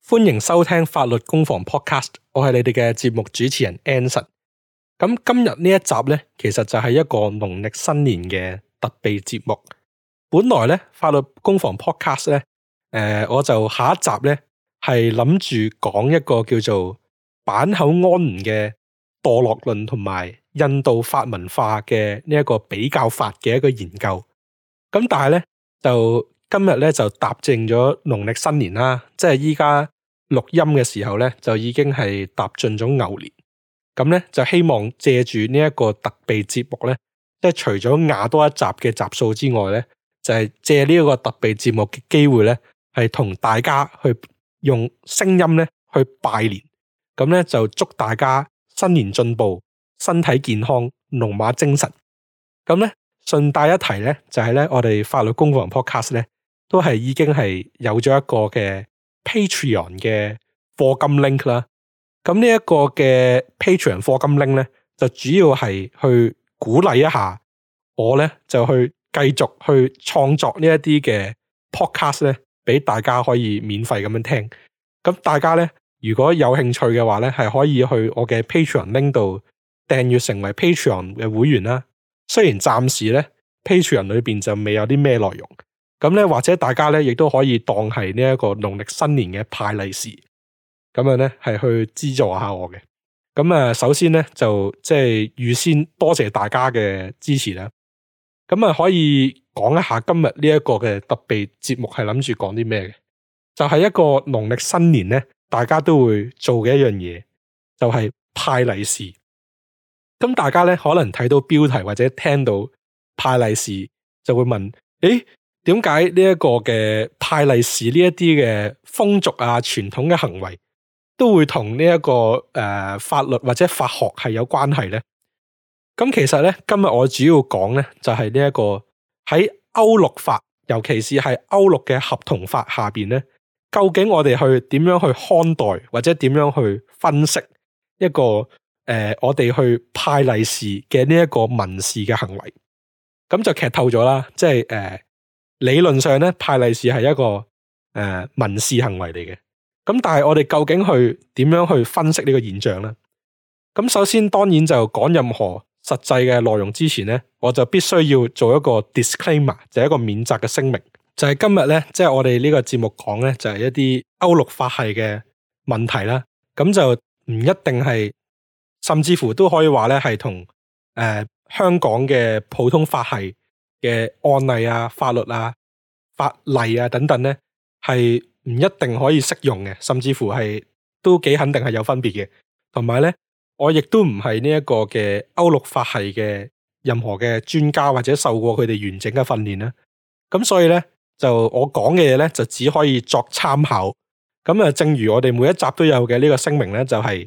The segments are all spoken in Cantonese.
歡迎收聽法律攻防 Podcast， 我係你哋嘅節目主持人 Anson。咁今日呢一集呢，其實就係一個農曆新年嘅特備節目。本來呢，法律攻防 Podcast 呢，我就下一集呢係諗住講一個叫做坂口安吾嘅墮落論同埋印度法文化嘅呢一個比較法嘅一個研究。咁但係呢，就今日咧就踏正咗農曆新年啦，即係依家錄音嘅時候咧就已經係踏進咗牛年。咁咧就希望借住呢一個特備節目咧，即係除咗壓多一集嘅集數之外咧，就係借呢一個特備節目嘅機會咧，係同大家去用聲音咧去拜年。咁咧就祝大家新年進步，身體健康，龍馬精神。咁咧順帶一提咧，就係咧我哋法律攻防 Podcast 咧，都係已經係有咗一個嘅 Patreon 嘅課金 link 啦。咁呢一個嘅 Patreon 課金 link 咧，就主要係去鼓勵一下我咧，就去繼續去創作呢一啲嘅 podcast 咧，俾大家可以免費咁樣聽。咁大家咧，如果有興趣嘅話咧，係可以去我嘅 Patreon link 度訂閱成為 Patreon 嘅會員啦。雖然暫時咧 Patreon 裏邊就未有啲咩內容。咁咧，或者大家咧，亦都可以當係呢一個農曆新年嘅派利是，咁樣咧係去資助下我嘅。咁首先咧就即係預先多謝大家嘅支持啦。咁可以講一下今日呢一個嘅特備節目係諗住講啲咩嘅？就係一個農曆新年咧，大家都會做嘅一樣嘢，就係派利是。咁大家咧可能睇到標題或者聽到派利是，就會問：誒，點解呢一個嘅派利是呢一啲嘅風俗啊、傳統嘅行為都會同呢一個法律或者法學係有關係呢？咁其實咧，今日我主要講咧就係呢一個喺歐陸法，尤其是係歐陸嘅合同法下邊咧，究竟我哋去點樣去看待或者點樣去分析一個我哋去派利是嘅呢一個民事嘅行為？咁就劇透咗啦，即係理論上咧，派利是係一個民事行為嚟嘅。咁但係我哋究竟去點樣去分析呢個現象呢？咁首先當然就講任何實際嘅內容之前咧，我就必須要做一個 disclaimer，就係一個免責嘅聲明。就係今日咧，即係我哋呢個節目講咧，就係一啲歐陸法系嘅問題啦。咁就唔一定係，甚至乎都可以話咧係同香港嘅普通法系嘅案例啊、法律啊、法例啊等等咧，係唔一定可以適用嘅，甚至乎係都幾肯定係有分別嘅。同埋咧，我亦都唔係呢一個嘅歐陸法系嘅任何嘅專家或者受過佢哋完整嘅訓練啦。咁所以咧，就我講嘅嘢咧，就只可以作參考。咁正如我哋每一集都有嘅呢個聲明咧，就係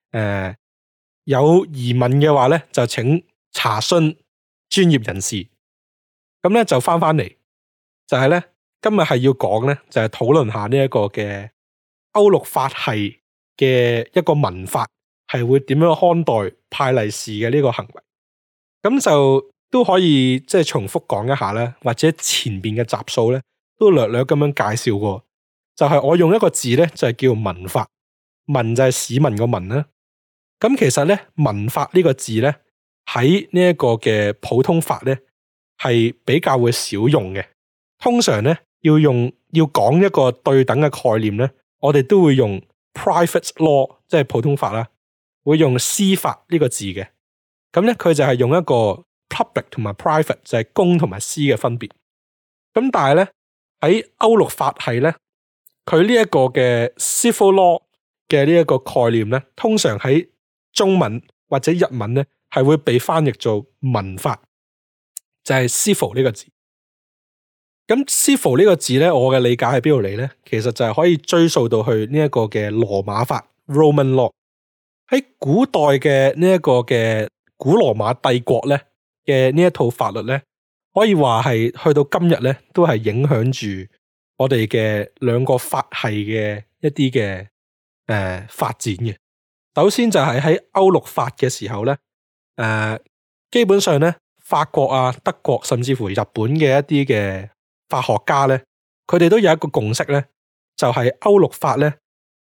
有疑問嘅話咧，就請查詢專業人士。咁咧就翻嚟，就係咧今日係要講咧，就係討論下呢一個嘅歐陸法系嘅一個文法係會點樣看待派利是嘅呢個行為。咁就都可以即係重複講一下咧，或者前邊嘅集數咧都略略咁樣介紹過。就係我用一個字咧，就係叫民法，民就係市民個民啦。咁其實咧，民法呢個字咧喺呢一個嘅普通法咧係比較會少用嘅。通常咧要講一個對等嘅概念咧，我哋都會用 private law， 即係普通法啦，會用私法呢個字嘅。咁咧佢就係用一個 public 同埋 private， 就係公同埋私嘅分別。咁但係咧喺歐陸法系咧，佢呢一個嘅 civil law 嘅呢一個概念咧，通常喺中文或者日文咧係會被翻譯做民法，就係 civil 呢個字。咁 civil 呢個字咧，我嘅理解喺邊度嚟咧？其實就係可以追溯到去呢一個嘅羅馬法 Roman law。喺古代嘅呢一個嘅古羅馬帝國咧嘅呢一套法律咧，可以話係去到今日咧都係影響住我哋嘅兩個法系嘅一啲嘅發展嘅。首先就係喺歐陸法嘅時候咧，基本上咧法國啊、德國甚至乎日本嘅一啲嘅法學家咧，佢哋都有一個共識咧，就係歐陸法咧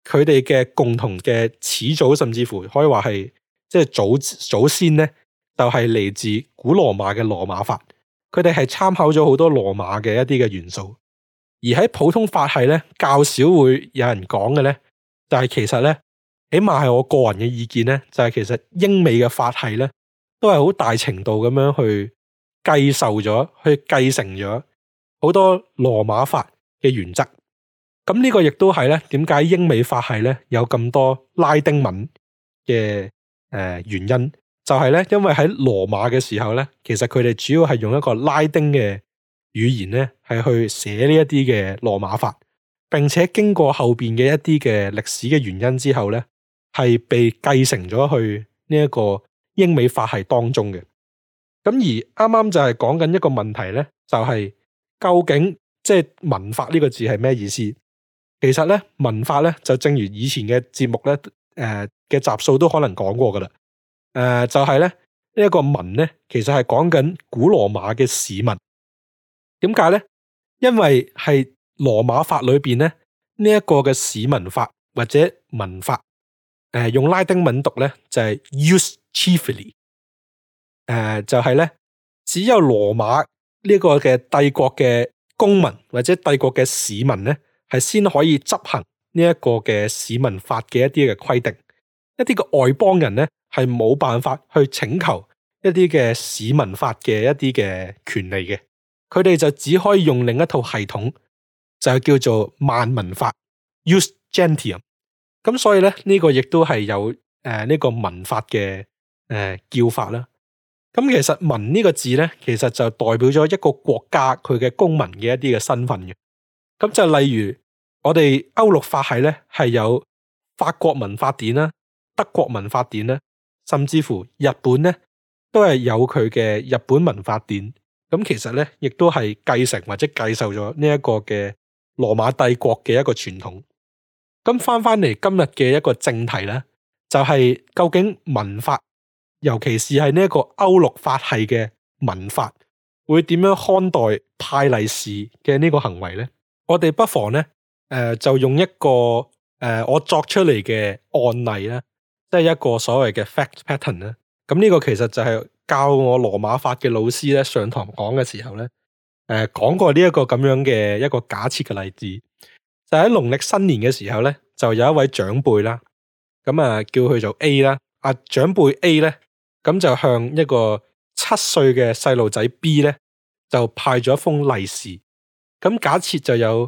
佢哋嘅共同嘅始祖，甚至乎可以話係即係祖先咧，就係嚟自古羅馬嘅羅馬法。佢哋係參考咗好多羅馬嘅一啲嘅元素，而喺普通法系咧較少會有人講嘅咧，就係其實咧，起碼係我個人嘅意見咧，就係其實英美嘅法系咧，都係好大程度咁樣去繼受咗，去繼承咗好多羅馬法嘅原則。咁呢個亦都係咧，點解英美法系咧有咁多拉丁文嘅原因，就係咧，因為喺羅馬嘅時候咧，其實佢哋主要係用一個拉丁嘅語言咧，係去寫呢一啲嘅羅馬法，並且經過後邊嘅一啲嘅歷史嘅原因之後咧，係被繼承咗去呢一個英美法系當中嘅。咁而啱啱就係講緊一個問題咧，就係究竟即係文法呢個字係咩意思？其實咧，文法咧就正如以前嘅節目咧，嘅集數都可能講過噶啦。就係咧呢一個文咧，其實係講緊古羅馬嘅市文。點解咧？因為係羅馬法裏邊咧呢一個嘅市民法或者文法，用拉丁文讀咧就係 Jus chiefly。就係咧，只有羅馬呢個嘅帝國嘅公民或者帝國嘅市民咧，係先可以執行呢一個嘅市民法嘅一啲嘅規定，一啲嘅外邦人咧係冇辦法去請求一啲嘅市民法嘅一啲嘅權利嘅，佢哋就只可以用另一套系統，就叫做萬民法 Jus gentium。咁所以咧呢個亦都係有呢個民法嘅叫法啦。咁其實民呢個字咧，其實就代表咗一個國家佢嘅公民嘅一啲嘅身份嘅。咁就例如我哋歐陸法系咧係有法國民法典啦、德國民法典啦，甚至乎日本咧都係有佢嘅日本民法典。咁其實咧亦都係繼承或者繼受咗呢一個嘅羅馬帝國嘅一個傳統。咁翻嚟今日嘅一個正題咧，就係究竟民法，尤其是係呢一個歐陸法系嘅民法，會點樣看待派利是嘅呢個行為呢？我哋不妨呢，就用一個我作出嚟嘅案例啦，即係一個所謂嘅 fact pattern 啦。咁呢個其實就係教我羅馬法嘅老師咧上堂講嘅時候咧，講過呢一個咁樣嘅一個假設嘅例子，就喺農曆新年嘅時候咧，就有一位長輩啦，咁叫佢做 A 啦，長輩 A 咧。咁就向一個7歲嘅細路仔 B 咧，就派咗一封利是。咁假設就有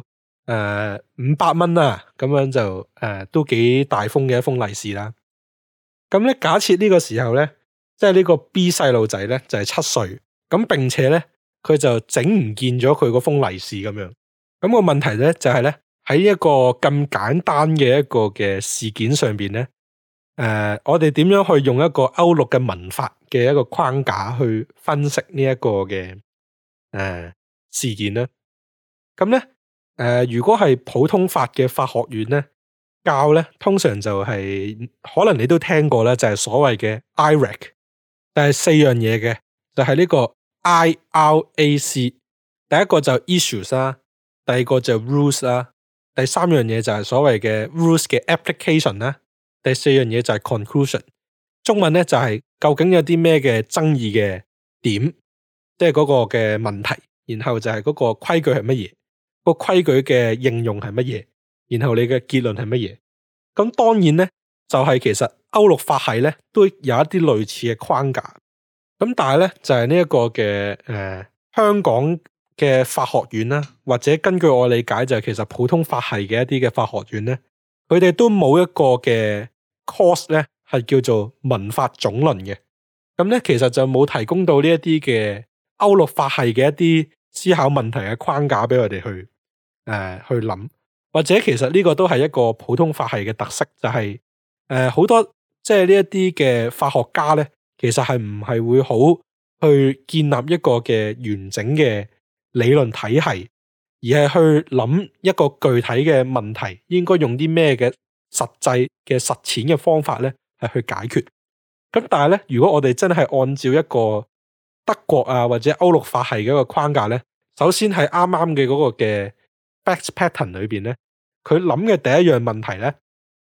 500蚊啦，咁樣就都幾大封嘅一封利是啦。咁咧假設呢個時候咧，即係呢個 B 細路仔咧就係7歲，咁並且咧佢就整唔見咗佢嗰封利是咁樣。咁個問題咧就係咧喺一個咁簡單嘅一個嘅事件上邊咧。我哋點樣去用一個歐陸嘅民法嘅一個框架去分析呢一個嘅事件呢？咁咧如果係普通法嘅法學院咧教咧，通常就係可能你都聽過咧，就係所謂嘅 IRAC， 但係4樣嘢嘅，就係呢個 IRAC。第一個就 issues 啦，第二個就 rules 啦，第三樣嘢就係所謂嘅 rules 嘅 application 啦。第四樣嘢就係 conclusion， 中文咧就係究竟有啲咩嘅爭議嘅點，即係嗰個嘅問題，然後就係嗰個規矩係乜嘢，個規矩嘅應用係乜嘢，然後你嘅結論係乜嘢。咁當然咧就係其實歐陸法系咧都有一啲類似嘅框架，咁但係咧就係呢一個嘅香港嘅法學院啦，或者根據我理解就係其實普通法系嘅一啲嘅法學院咧，佢哋都冇一個嘅 course 咧係叫做民法總論嘅，咁咧其實就冇提供到呢一啲嘅歐陸法系嘅一啲思考問題嘅框架俾我哋去諗，或者其實呢個都係一個普通法系嘅特色，就係好多即係呢一啲嘅法學家咧，其實係唔係會好去建立一個嘅完整嘅理論體系，而係去諗一個具體嘅問題應該用啲咩嘅實際嘅實踐嘅方法咧係去解決。咁但係咧，如果我哋真係按照一個德國啊或者歐陸法系嘅一個框架咧，首先係啱啱嘅嗰個嘅 fact pattern 裏邊咧，佢諗嘅第一樣問題咧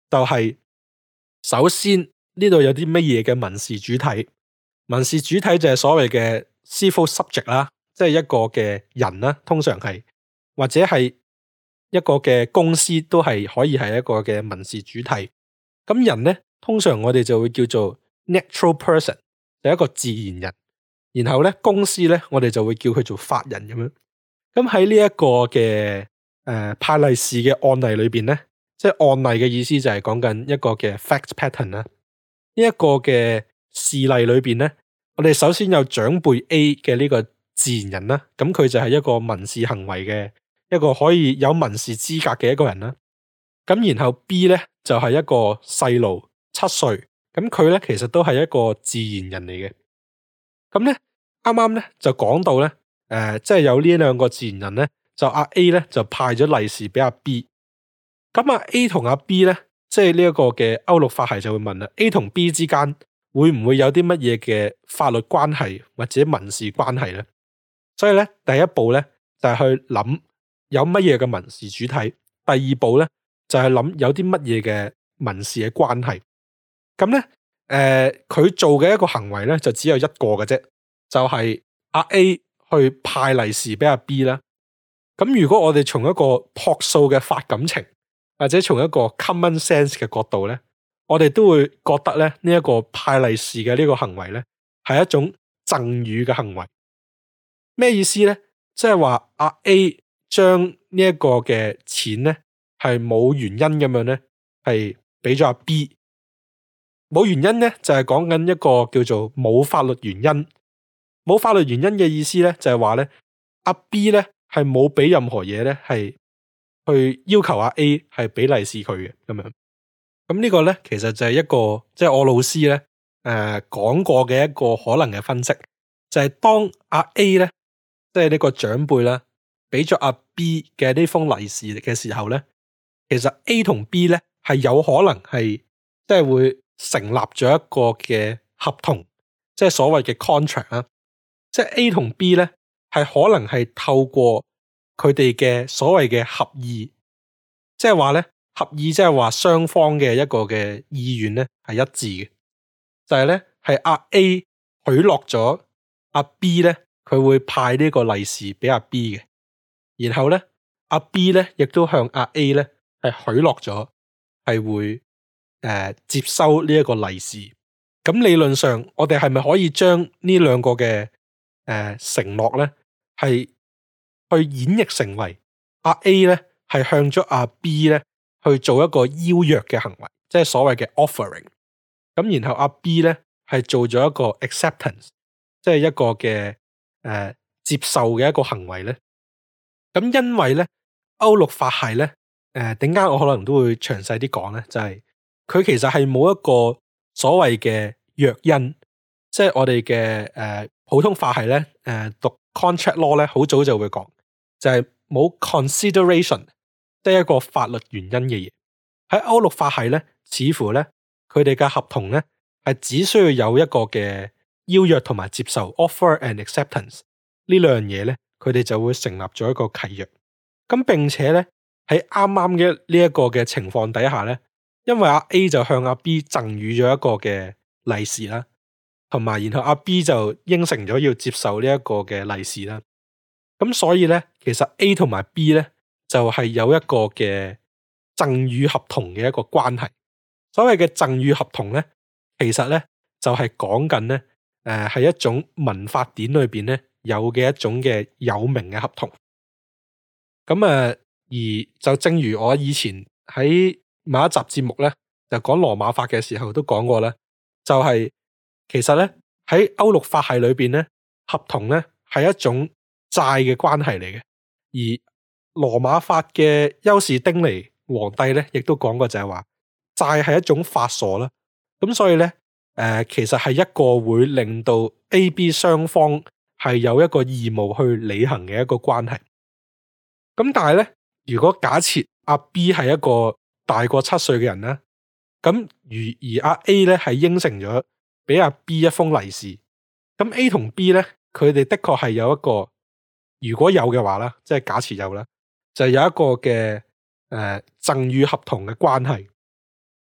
就係首先呢度有啲乜嘢嘅民事主體，民事主體就係所謂嘅 civil subject 啦，即係一個嘅人啦，通常係或者係一個嘅公司都係可以係一個嘅民事主體。咁人咧，通常我哋就會叫做 natural person， 就係一個自然人。然後咧，公司咧，我哋就會叫佢做法人咁樣。咁喺呢一個嘅派利是嘅案例裏邊咧，即係案例嘅意思就係講緊一個嘅 fact pattern 啦。呢一個嘅事例裏邊咧，我哋首先有長輩 A 嘅呢個自然人啦，咁佢就係一個民事行為嘅一個可以有民事資格嘅一個人啦。咁然後 B 咧就係一個細路7歲，咁佢咧其實都係一個自然人嚟嘅。咁咧啱啱咧就講到咧，即係有呢兩個自然人咧，就阿 A 咧就派咗利是俾阿 B。咁阿 A 同阿 B 咧，即係呢一個嘅歐陸法系就會問啦 ，A 同 B 之間會唔會有啲乜嘢嘅法律關係或者民事關係咧？所以咧第一步咧就係去諗有乜嘢嘅民事主體，第二步咧就係諗有啲乜嘢嘅民事嘅關係。咁咧佢做嘅一個行為咧就只有一個嘅啫，就係阿 A 去派利是俾阿 B 啦。咁如果我哋從一個樸素嘅法感情，或者從一個 common sense 嘅角度咧，我哋都會覺得咧呢一個派利是嘅呢個行為咧係一種贈與嘅行為。咩意思咧？即係話阿 A 將呢一個嘅錢咧係冇原因咁樣咧係俾咗阿 B。冇原因咧就係講緊一個叫做冇法律原因。冇法律原因嘅意思咧就係話咧阿 B 咧係冇俾任何嘢咧係去要求阿 A 係俾利是佢嘅咁樣。咁呢個咧其實就係一個即係我老師咧講過嘅一個可能嘅分析，就係當阿 A 咧即係呢個長輩啦俾咗阿 B 嘅呢封利是嘅時候咧，其實 A 同 B 咧係有可能係即係會成立咗一個嘅合同，即係所謂嘅 contract 啦。即係 A 同 B 咧係可能係透過佢哋嘅所謂嘅合意，即係話咧合意即係話雙方嘅一個嘅意願咧係一致嘅，就係咧係阿 A 許諾咗阿 B 咧佢會派呢個利是俾阿 B 嘅，然後咧阿 B 咧亦都向阿 A 咧係許諾咗係會接收呢一個利是。咁理論上我哋係咪可以將呢兩個嘅承諾咧係去演繹成為阿 A 咧係向咗阿 B 咧去做一個邀約嘅行為，即係所謂嘅 offering。咁然後阿 B 咧係做咗一個 acceptance， 即係一個嘅接受嘅一個行為咧。咁因為咧歐陸法系咧點解我可能都會詳細啲講咧，就係佢其實係冇一個所謂嘅約因，即係我哋嘅普通法系咧讀 contract law 咧好早就會講，就係冇 consideration， 即係一個法律原因嘅嘢。喺歐陸法系咧，似乎咧佢哋嘅合同咧係只需要有一個嘅邀約同埋接受 offer and acceptance 呢兩樣嘢咧，佢哋就會成立咗一個契約。咁並且咧喺啱啱嘅呢一個嘅情況底下咧，因為阿 A 就向阿 B 贈予咗一個嘅利是啦，同埋然後阿 B 就應承咗要接受呢一個嘅利是啦。咁所以咧，其實 A 同埋 B 咧就係有一個嘅贈與合同嘅一個關係。所謂嘅贈與合同咧，其實咧就係講緊咧係一種民法典裏邊咧有嘅一種嘅有名嘅合同。咁而就正如我以前喺某一集節目咧就講羅馬法嘅時候都講過咧，就係其實咧喺歐陸法系裏邊咧，合同咧係一種債嘅關係嚟嘅。而羅馬法嘅優士丁尼皇帝咧亦都講過就係話債係一種法鎖啦。咁所以咧其實係一個會令到 A、B 雙方係有一個義務去履行嘅一個關係。咁但係咧，如果假設阿 B 係一個大過7歲嘅人咧，咁而阿 A 咧係應承咗俾阿 B 一封利是，咁 A 同 B 咧佢哋的確係有一個，如果有嘅話啦，即係假設有啦，就係有一個嘅贈與合同嘅關係。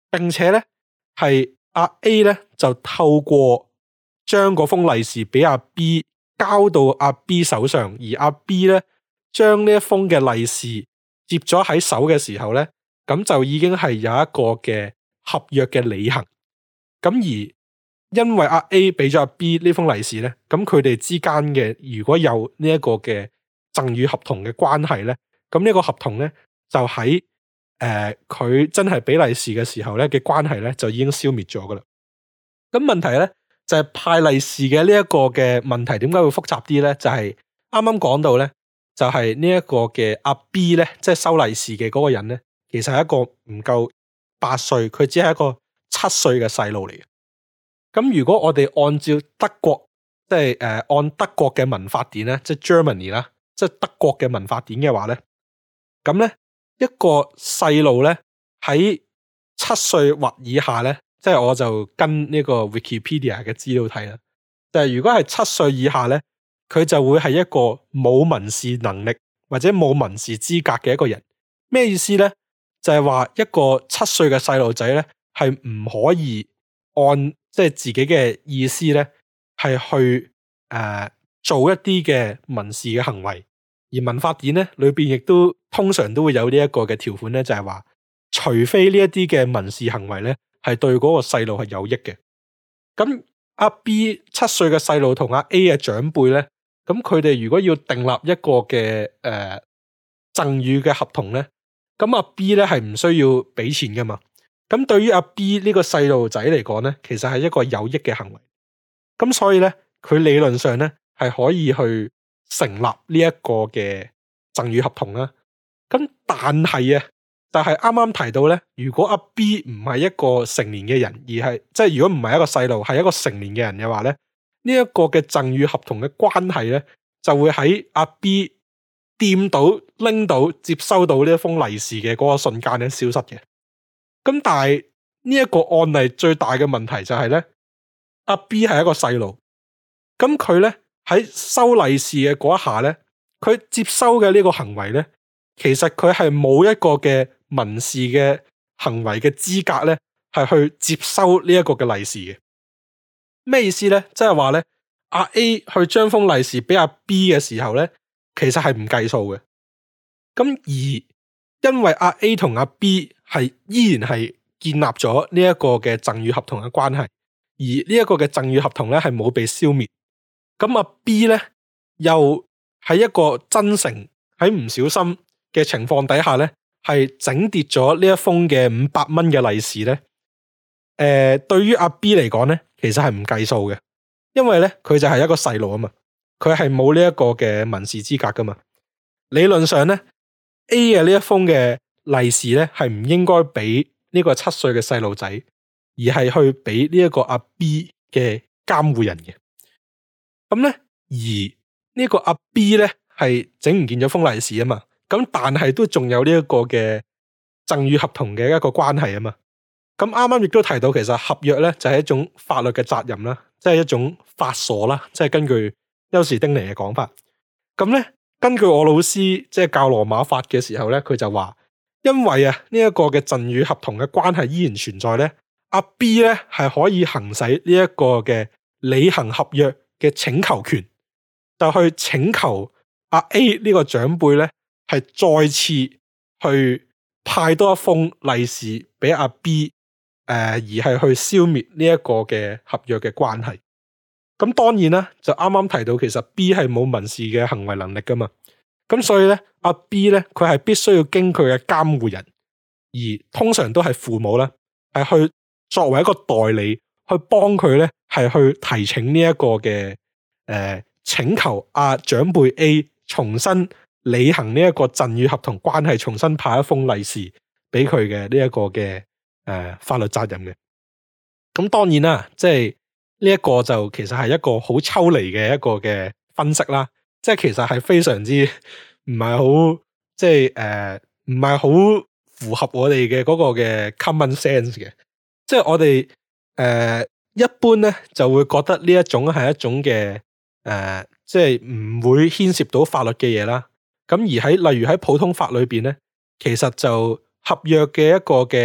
並且咧係阿 A 咧就透過將嗰封利是俾阿 B 交到阿 B 手上，而阿 B 咧將呢一封嘅利是接咗喺手嘅時候咧，咁就已經係有一個嘅合約嘅履行。咁而因為阿 A 俾咗阿 B 呢封利是咧，咁佢哋之間嘅如果有呢一個嘅贈與合同嘅關係咧，咁呢個合同咧就喺佢真係俾利是嘅時候咧嘅關係咧就已經消滅咗噶啦。咁問題咧就係派利是嘅呢一個嘅問題點解會複雜啲咧？就係啱啱講到咧，就係呢一個嘅阿 B 咧，即係收利是嘅嗰個人咧，其實係一個唔夠8歲，佢只係一個7歲嘅細路嚟嘅。咁如果我哋按照德國，即係按德國嘅民法典咧，即係 Germany 啦，即係德國嘅民法典嘅話咧，咁咧一個細路咧喺7歲或以下咧，即係我就跟呢個 Wikipedia 嘅資料睇啦。就係如果係7歲以下咧，佢就會係一個冇民事能力或者冇民事資格嘅一個人。咩意思咧？就係話一個7歲嘅細路仔咧，係唔可以按即係自己嘅意思咧，係去做一啲嘅民事嘅行為。而民法典咧裏邊亦都通常都會有呢一個嘅條款咧，就係話，除非呢一啲嘅民事行為咧係對嗰個細路係有益嘅。咁阿 B 7歲嘅細路同阿 A 嘅長輩咧，咁佢哋如果要訂立一個嘅贈與嘅合同咧，咁阿 B 咧係唔需要俾錢噶嘛。咁對於阿 B 呢個細路仔嚟講咧，其實係一個有益嘅行為。咁所以咧，佢理論上咧係可以去成立呢一個嘅贈與合同啦。咁但係啊，就係啱啱提到咧，如果阿 B 唔係一個成年嘅人，而係即係如果唔係一個細路，係一個成年嘅人嘅話咧，呢一個嘅贈與合同嘅關係咧，就會喺阿 B 掂到、拎到、接收到呢一封利是嘅嗰個瞬間咧消失嘅。咁但係呢一個案例最大嘅問題就係咧，阿 B 係一個細路，咁佢咧喺收利是嘅嗰一下咧，佢接收嘅呢個行為咧，其實佢係冇一個嘅民事嘅行為嘅資格咧，係去接收呢一個嘅利是嘅。咩意思咧？即係話咧，阿 A 去將封利是俾阿 B 嘅時候咧，其實係唔計數嘅。咁而因為阿 A 同阿 B 係依然係建立咗呢一個嘅贈與合同嘅關係，而呢一個嘅贈與合同咧係冇被消滅。咁阿 B 咧又喺一個真誠喺唔小心嘅情況底下咧，係整跌咗呢一封嘅500蚊嘅利是咧。對於阿 B 嚟講咧，其實係唔計數嘅，因為咧佢就係一個細路啊嘛，佢係冇呢一個嘅民事資格噶嘛。理論上咧 ，A 嘅呢一封嘅利是咧係唔應該俾呢個7歲嘅細路仔，而係去俾呢一個阿 B 嘅監護人嘅。咁咧，而呢個阿 B 咧係整唔見咗封利是啊嘛，咁但係都仲有呢一個嘅贈與合同嘅一個關係啊嘛。咁啱啱亦都提到，其實合約咧就係一種法律嘅責任啦，即係一種法鎖啦，即係根據休士丁尼嘅講法。咁咧，根據我老師即係教羅馬法嘅時候咧，佢就話，因為啊呢一個嘅贈與合同嘅關係依然存在咧，阿 B 咧係可以行使呢一個嘅履行合約嘅請求權，就去請求阿 A 呢個長輩咧係再次去派多一封利是俾阿 B。而係去消滅呢一個嘅合約嘅關係。咁當然啦，就啱啱提到，其實 B 係冇民事嘅行為能力噶嘛。咁所以咧，阿 B 咧，佢係必須要經佢嘅監護人，而通常都係父母啦，係去作為一個代理，去幫佢咧，係去提請呢一個嘅請求阿長輩 A 重新履行呢一個贈與合同關係，重新派一封利是俾佢嘅呢一個嘅。法律責任嘅。咁當然啦，即係呢一個就其實係一個好抽離嘅一個嘅分析啦，即係其實係非常之唔係好，即係唔係好符合我哋嘅嗰個嘅 common sense 嘅，即係我哋一般咧就會覺得呢一種係一種嘅即係唔會牽涉到法律嘅嘢啦。咁而喺例如喺普通法裏邊咧，其實就合約嘅一個嘅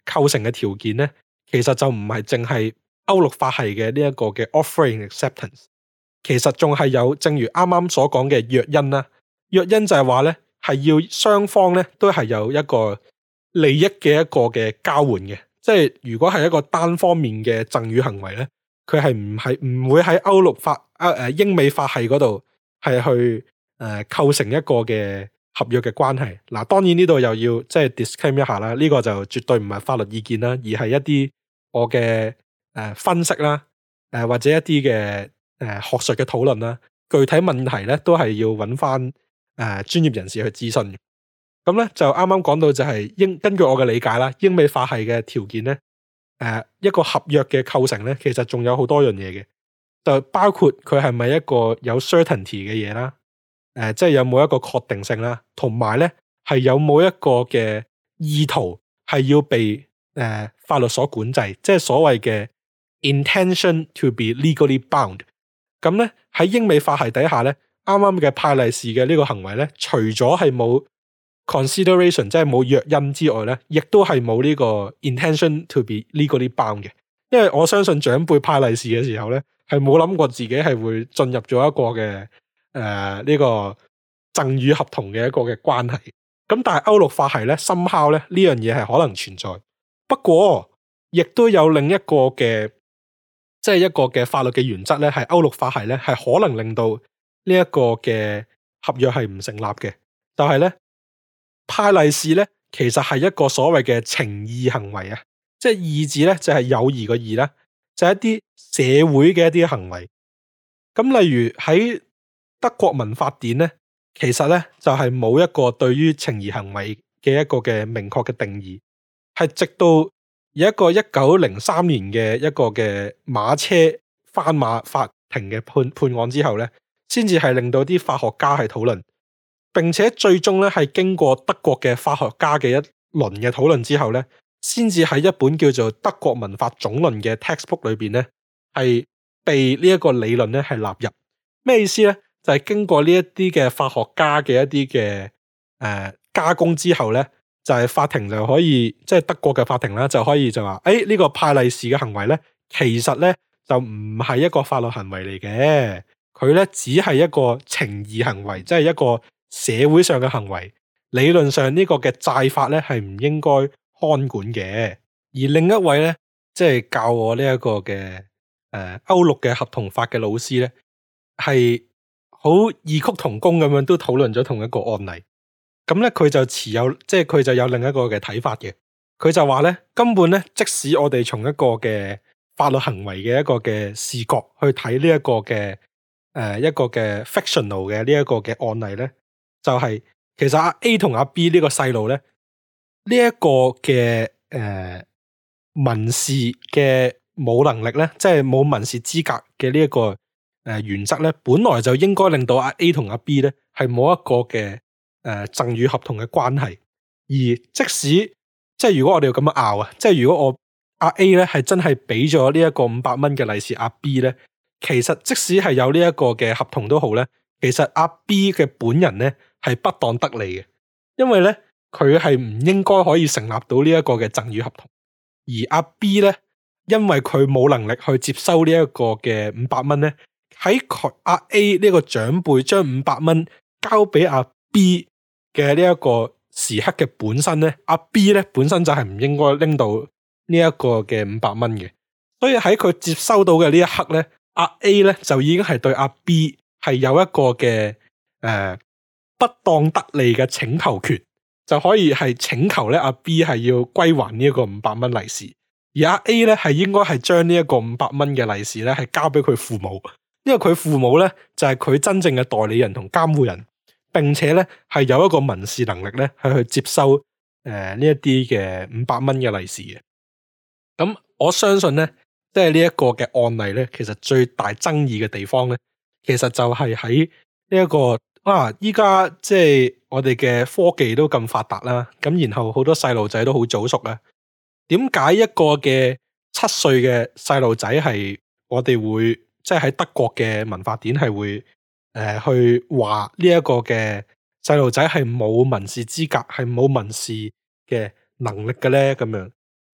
構成嘅條件咧，其實就唔係淨係歐陸法系嘅呢一個嘅 offering acceptance， 其實仲係有正如啱啱所講嘅約因啦。約因就係話咧，係要雙方咧都係有一個利益嘅一個嘅交換嘅，即係如果係一個單方面嘅贈與行為咧，佢係唔會喺歐陸法英美法系嗰度係去構成一個嘅合約嘅關係。嗱，當然呢度又要即係 disclaim 一下啦，呢個就絕對唔係法律意見啦，而係一啲我嘅分析啦，或者一啲嘅學術嘅討論啦。具體問題咧都係要揾翻專業人士去諮詢嘅。咁咧就啱啱講到就係根據我嘅理解啦，英美法系嘅條件咧，一個合約嘅構成咧，其實仲有好多樣嘢嘅，就包括佢係咪一個有 certainty 嘅嘢啦，即係有冇一個確定性啦，同埋咧係有冇一個嘅意圖係要被法律所管制，即係所謂嘅 intention to be legally bound。咁咧喺英美法系底下咧，啱啱嘅派利是嘅呢個行為咧，除咗係冇 consideration 即係冇約因之外咧，亦都係冇呢個 intention to be legally bound 嘅。因為我相信長輩派利是嘅時候咧，係冇諗過自己係會進入咗一個嘅呢個贈與合同嘅一個嘅關係。咁但係歐陸法系咧，somehow咧呢樣嘢係可能存在。不過亦都有另一個嘅即係一個嘅法律嘅原則咧，係歐陸法系咧係可能令到呢一個嘅合約係唔成立嘅。就係咧，派利是咧，其實係一個所謂嘅情義行為啊，即係義字咧就係友誼個義啦，就係一啲社會嘅一啲行為。咁例如喺德國民法典咧，其實咧就係冇一個對於情義行為嘅一個嘅明確嘅定義，係直到有一個1903年嘅一個嘅馬車翻馬法庭嘅判案之後咧，先至係令到啲法學家係討論，並且最終咧係經過德國嘅法學家嘅一輪嘅討論之後咧，先至喺一本叫做《德國民法總論》嘅 textbook 裏邊咧，係被呢一個理論咧係納入。咩意思咧？就係經過呢一啲嘅法學家嘅一啲嘅加工之後咧，就係法庭就可以，即係德國嘅法庭啦，就可以就話，呢個派利是嘅行為咧，其實咧就唔係一個法律行為嚟嘅，佢咧只係一個情義行為，即係一個社會上嘅行為。理論上呢個嘅債法咧係唔應該看管嘅。而另一位咧，即係教我呢一個嘅歐陸嘅合同法嘅老師咧，係好異曲同工咁樣都討論咗同一個案例。咁咧佢就即係佢就有另一個嘅睇法嘅。佢就話咧，根本咧，即使我哋從一個嘅法律行為嘅一個嘅視角去睇呢一個嘅一個嘅 fictional 嘅呢一個嘅案例咧，就係其實阿 A 同阿 B 呢個細路咧，呢一個嘅民事嘅冇能力咧，即係冇民事資格嘅呢一個原則咧，本來就應該令到阿 A 同阿 B 咧係冇一個嘅贈與合同嘅關係。而即使即係如果我哋要咁樣拗啊，即係如果我阿 A 咧係真係俾咗呢一個500蚊嘅利是阿 B 咧，其實即使係有呢一個嘅合同都好咧，其實阿 B 嘅本人咧係不當得利嘅，因為咧佢係唔應該可以成立到呢一個嘅贈與合同。而阿 B 咧，因為佢冇能力去接收呢一個嘅500蚊咧，喺阿 A 呢個長輩將500蚊交俾阿 B 嘅呢一個時刻嘅本身咧，阿 B 咧本身就係唔應該拎到呢一個嘅500蚊嘅，所以喺佢接收到嘅呢一刻咧，阿 A 咧就已經係對阿 B 係有一個嘅不當得利嘅請求權，就可以係請求咧阿 B 係要歸還呢一個500蚊利是，而阿 A 咧係應該係將呢一個500蚊嘅利是咧係交俾佢父母，因為佢父母咧就係佢真正嘅代理人同監護人。並且咧係有一個民事能力咧係去接收呢一啲嘅500蚊嘅利是嘅。咁我相信咧，即係呢一個嘅案例咧，其實最大爭議嘅地方咧，其實就係喺呢一個依家即係我哋嘅科技都咁發達啦，咁然後好多細路仔都好早熟啦。點解一個嘅7歲嘅細路仔係我哋會即係喺德國嘅民法典係會去話呢一個嘅細路仔係冇民事資格，係冇民事嘅能力嘅咧？咁樣，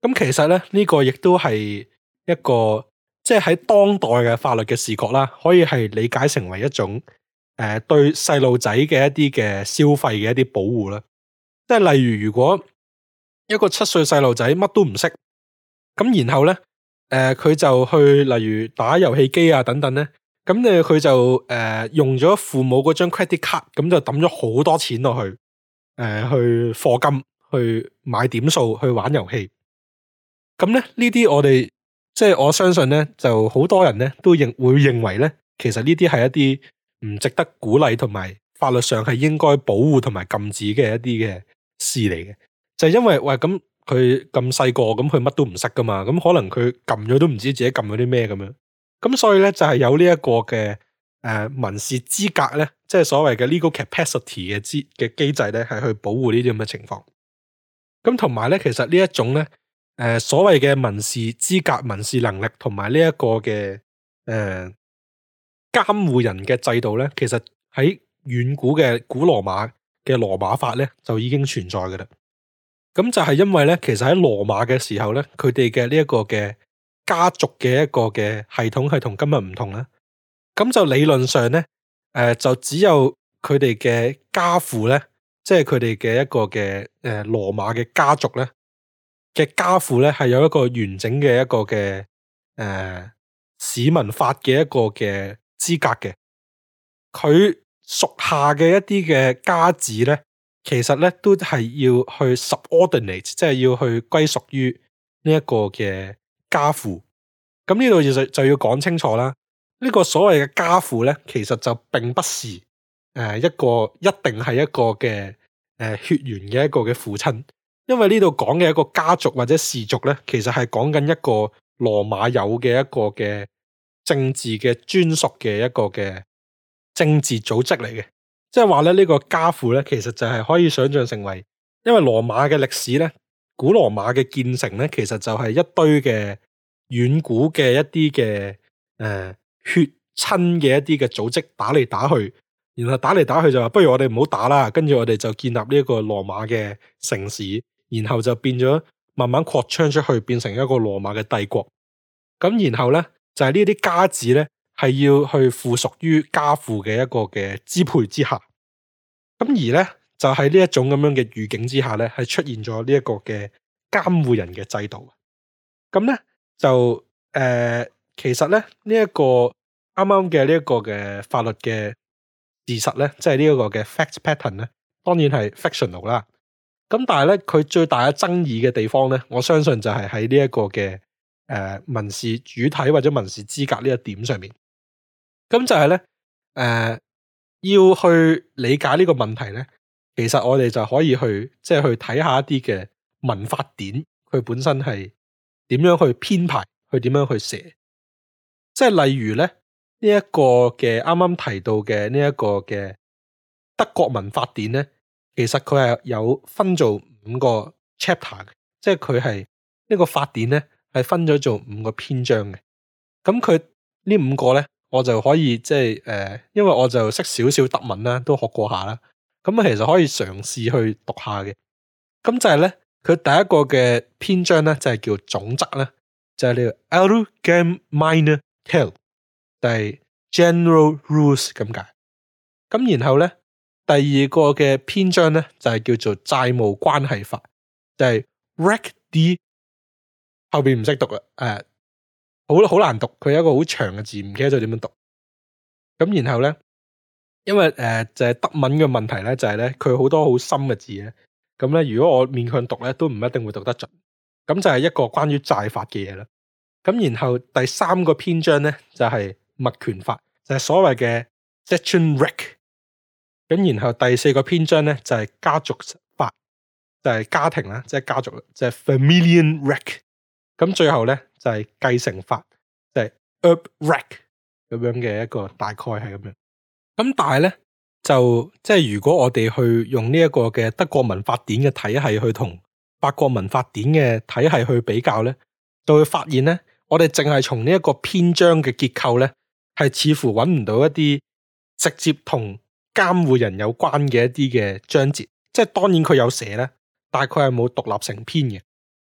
咁其實咧呢個亦都係一個即係喺當代嘅法律嘅視角啦，可以係理解成為一種對細路仔嘅一啲嘅消費嘅一啲保護啦。即係例如，如果一個7歲細路仔乜都唔識，咁然後咧佢就去例如打遊戲機啊等等咧，咁佢就用咗父母嗰張 credit card， 咁就抌咗好多錢落去去課金，去買點數，去玩遊戲。咁咧呢啲我哋即係我相信咧，就好多人咧都會認為咧，其實呢啲係一啲唔值得鼓勵同埋法律上係應該保護同埋禁止嘅一啲嘅事嚟嘅。就係因為喂，咁佢咁細個，咁佢乜都唔識噶嘛，咁可能佢撳咗都唔知自己撳咗啲咩咁樣。咁所以咧就係有呢一個嘅民事資格咧，即係所謂嘅 legal capacity 嘅機制咧，係去保護呢啲咁嘅情況。咁同埋咧，其實呢一種咧所謂嘅民事資格、民事能力同埋呢一個嘅監護人嘅制度咧，其實喺遠古嘅古羅馬嘅羅馬法咧就已經存在嘅啦。咁就係因為咧，其實喺羅馬嘅時候咧，佢哋嘅呢一個嘅家族嘅一個嘅系統係同今日唔同啦。咁就理論上咧，就只有佢哋嘅家父咧，即係佢哋嘅一個嘅羅馬嘅家族咧嘅家父咧，係有一個完整嘅一個嘅市民法嘅一個嘅資格嘅。佢屬下嘅一啲嘅家子咧，其實咧都係要去 subordinate， 即係要去歸屬於呢一個嘅家父。咁呢度就要講清楚啦。呢個所謂嘅家父咧，其實就並不是一定係一個嘅血緣嘅一個嘅父親，因為呢度講嘅一個家族或者氏族咧，其實係講緊一個羅馬有嘅一個嘅政治嘅專屬嘅一個嘅政治組織嚟嘅。即係話咧，呢個家父咧，其實就係可以想象成為，因為羅馬嘅歷史咧，古羅馬嘅建成咧，其實就係一堆嘅遠古嘅一啲嘅血親嘅一啲嘅組織打嚟打去，然後打嚟打去就話不如我哋唔好打啦，跟住我哋就建立呢一個羅馬嘅城市，然後就變咗慢慢擴張出去，變成一個羅馬嘅帝國。咁然後咧就係呢啲家子咧，係要去附屬於家父嘅一個嘅支配之下。咁而咧就喺呢一種咁樣嘅語境之下咧，係出現咗呢一個嘅監護人嘅制度。咁咧就其實咧呢一個啱啱嘅呢一個嘅法律嘅事實咧，即係呢一個嘅 fact pattern 咧，當然係 fictional 啦。咁但係咧佢最大嘅爭議嘅地方咧，我相信就係喺呢一個嘅民事主體或者民事資格呢一點上面。咁就係咧要去理解呢個問題咧，其實我哋就可以去即係去睇下一啲嘅民法典，佢本身係點樣去編排，去點樣去寫。即係例如咧呢一個嘅啱啱提到嘅呢一個嘅德國民法典咧，其實佢係有分做5個 chapter 嘅，即係佢係呢個法典咧係分咗做5個篇章嘅。咁佢呢5個咧，我就可以即係因為我就識少少德文啦，都學過下啦。咁其實可以嘗試去讀下嘅。咁就係咧，佢第一個嘅篇章咧就係叫總則咧，就係呢個 Allgemeine Regeln，就係 General Rules 咁解。咁然後咧，第二個嘅篇章咧就係叫做債務關係法，就係 Recht die， 後邊唔識讀啦，好難讀，佢有一個好長嘅字，唔記得咗點樣讀。咁然後咧，因為就係德文嘅問題咧，就係咧佢好多好深嘅字咧。咁咧，如果我勉強讀咧，都唔一定會讀得準。咁就係一個關於債法嘅嘢啦。咁然後第3個篇章咧就係物權法，就係所謂嘅 Sachenrecht。咁然後第4個篇章咧就係家族法，就係家庭啦，即係家族，就係 Familienrecht。咁最後咧就係繼承法，就係 Erbrecht 咁樣嘅一個大概係咁樣。咁但係咧就即係如果我哋去用呢一個嘅德國民法典嘅體系去同法國民法典嘅體系去比較咧，就會發現咧，我哋淨係從呢一個篇章嘅結構咧，係似乎揾唔到一啲直接同監護人有關嘅一啲嘅章節。即係當然佢有寫咧，但係佢係冇獨立成篇嘅。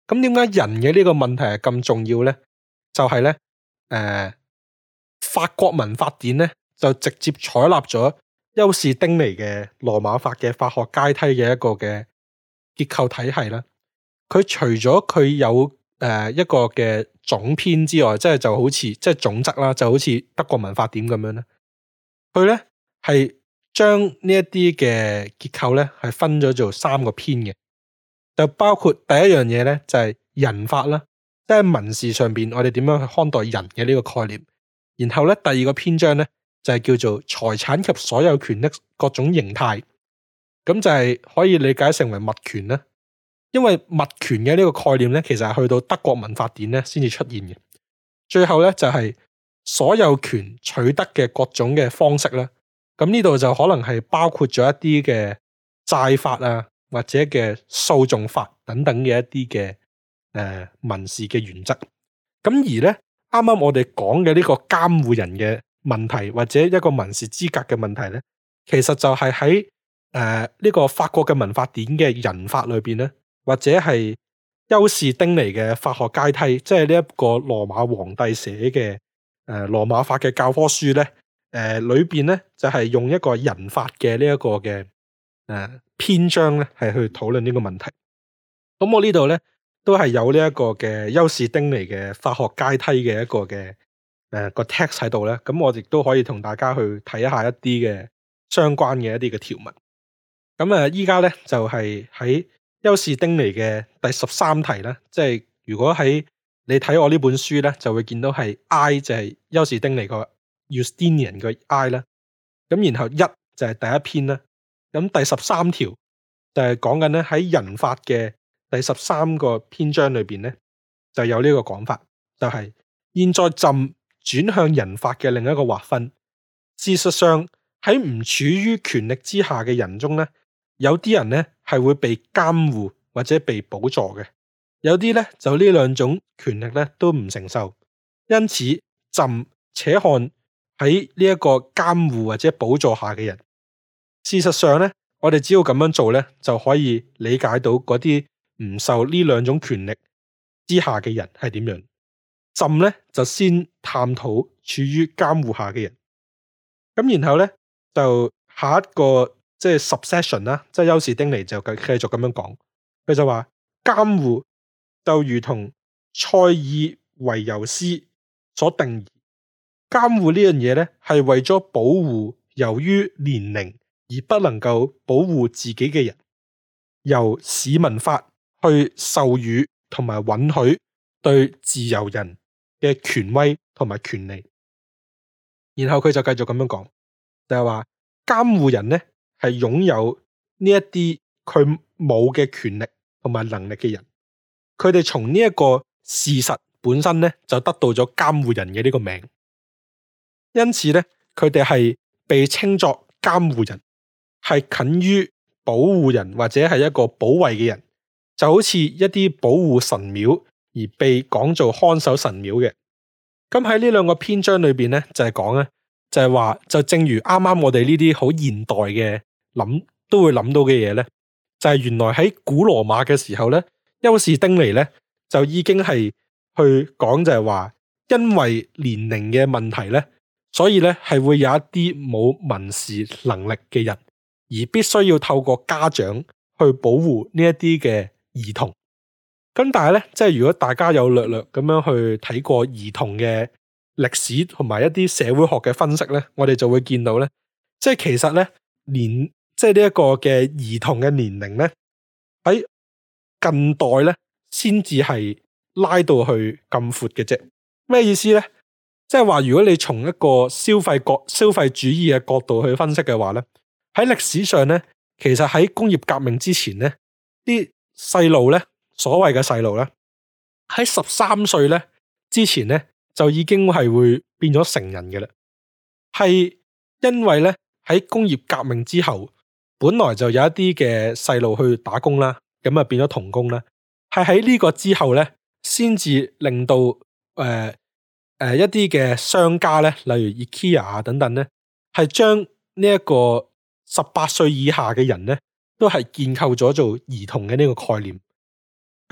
咁點解人嘅呢個問題係咁重要咧？就係咧，法國民法典咧就直接採納咗休士丁尼嘅羅馬法嘅法學階梯嘅一個嘅結構體系啦。佢除咗佢有一個嘅總篇之外，即係就好似即係總則啦，就好似德國民法典咁樣咧。佢咧係將呢一啲嘅結構咧係分咗做3個篇嘅，就包括第一樣嘢咧就係人法啦，即係民事上邊我哋點樣去看待人嘅呢個概念。然後咧第2個篇章咧就係叫做財產及所有權的各種形態，咁就係可以理解成為物權啦。因為物權嘅呢個概念咧，其實係去到德國民法典咧先至出現嘅。最後咧就係所有權取得嘅各種嘅方式啦。咁呢度就可能係包括咗一啲嘅債法啊，或者嘅訴訟法等等嘅一啲嘅民事嘅原則。咁而咧啱啱我哋講嘅呢個監護人嘅問題，或者一個民事資格嘅問題咧，其實就係喺呢個法國嘅民法典嘅人法裏邊咧，或者係休士丁尼嘅法學階梯，即係呢一個羅馬皇帝寫嘅羅馬法嘅教科書咧，裏邊咧就係用一個人法嘅呢一個嘅篇章咧，係去討論呢個問題。咁我呢度咧都係有呢一個嘅休士丁尼嘅法學階梯嘅一個嘅個 text 喺度咧，咁我亦都可以同大家去睇一下一啲嘅相關嘅一啲嘅條文。咁依家咧就係喺休士丁尼嘅第13題啦，即係如果喺你睇我呢本書咧，就會見到係 I 就係休士丁尼個 Justinian 嘅 I 啦，咁然後1就係第一篇啦，咁第13條就係講緊咧喺人法嘅第13個篇章裏邊咧就有呢個講法，就係現在朕轉向人法嘅另一個劃分。事實上喺唔處於權力之下嘅人中咧，有啲人咧係會被監護或者被補助嘅，有啲咧就呢兩種權力咧都唔承受。因此朕且看喺呢一個監護或者補助下嘅人，事實上咧我哋只要咁樣做咧就可以理解到嗰啲唔受呢兩種權力之下嘅人係點樣。朕咧就先探討處於監護下嘅人，咁然後咧就下一個即係 subsection 啦，即係休士丁尼就繼續咁樣講，佢就話監護就如同塞爾維尤斯所定義，監護呢樣嘢咧係為咗保護由於年齡而不能夠保護自己嘅人，由市民法去授予同埋允許對自由人嘅權威同埋權利。然後佢就繼續咁樣講，就係話監護人咧係擁有呢一啲佢冇嘅權力同埋能力嘅人，佢哋從呢一個事實本身咧就得到咗監護人嘅呢個名，因此咧佢哋係被稱作監護人，係近於保護人或者係一個保衛嘅人，就好似一啲保護神廟而被講做看守神廟嘅。咁喺呢兩個篇章裏邊咧，就係講咧，就係話，就正如啱啱我哋呢啲好現代嘅諗都會諗到嘅嘢咧，就係原來喺古羅馬嘅時候咧，休士丁尼咧就已經係去講就係話，因為年齡嘅問題咧，所以咧係會有一啲冇民事能力嘅人，而必須要透過家長去保護呢一啲嘅兒童。咁但係咧，即係如果大家有略略咁樣去睇過兒童嘅歷史同埋一啲社會學嘅分析咧，我哋就會見到咧，即係其實咧即係呢一個嘅兒童嘅年齡咧，喺近代咧先至係拉到去咁闊嘅啫。咩意思咧？即係話如果你從一個消費主義嘅角度去分析嘅話咧，喺歷史上咧，其實喺工業革命之前咧，啲細路咧。所謂嘅細路咧，喺13歲咧之前咧就已經係會變咗成人嘅啦。係因為咧喺工業革命之後，本來就有一啲嘅細路去打工啦，咁啊變咗童工啦。係喺呢個之後咧，先至令到一啲嘅商家咧，例如 IKEA 啊等等咧，係將呢一個18歲以下嘅人咧，都係建構咗做兒童嘅呢個概念。喺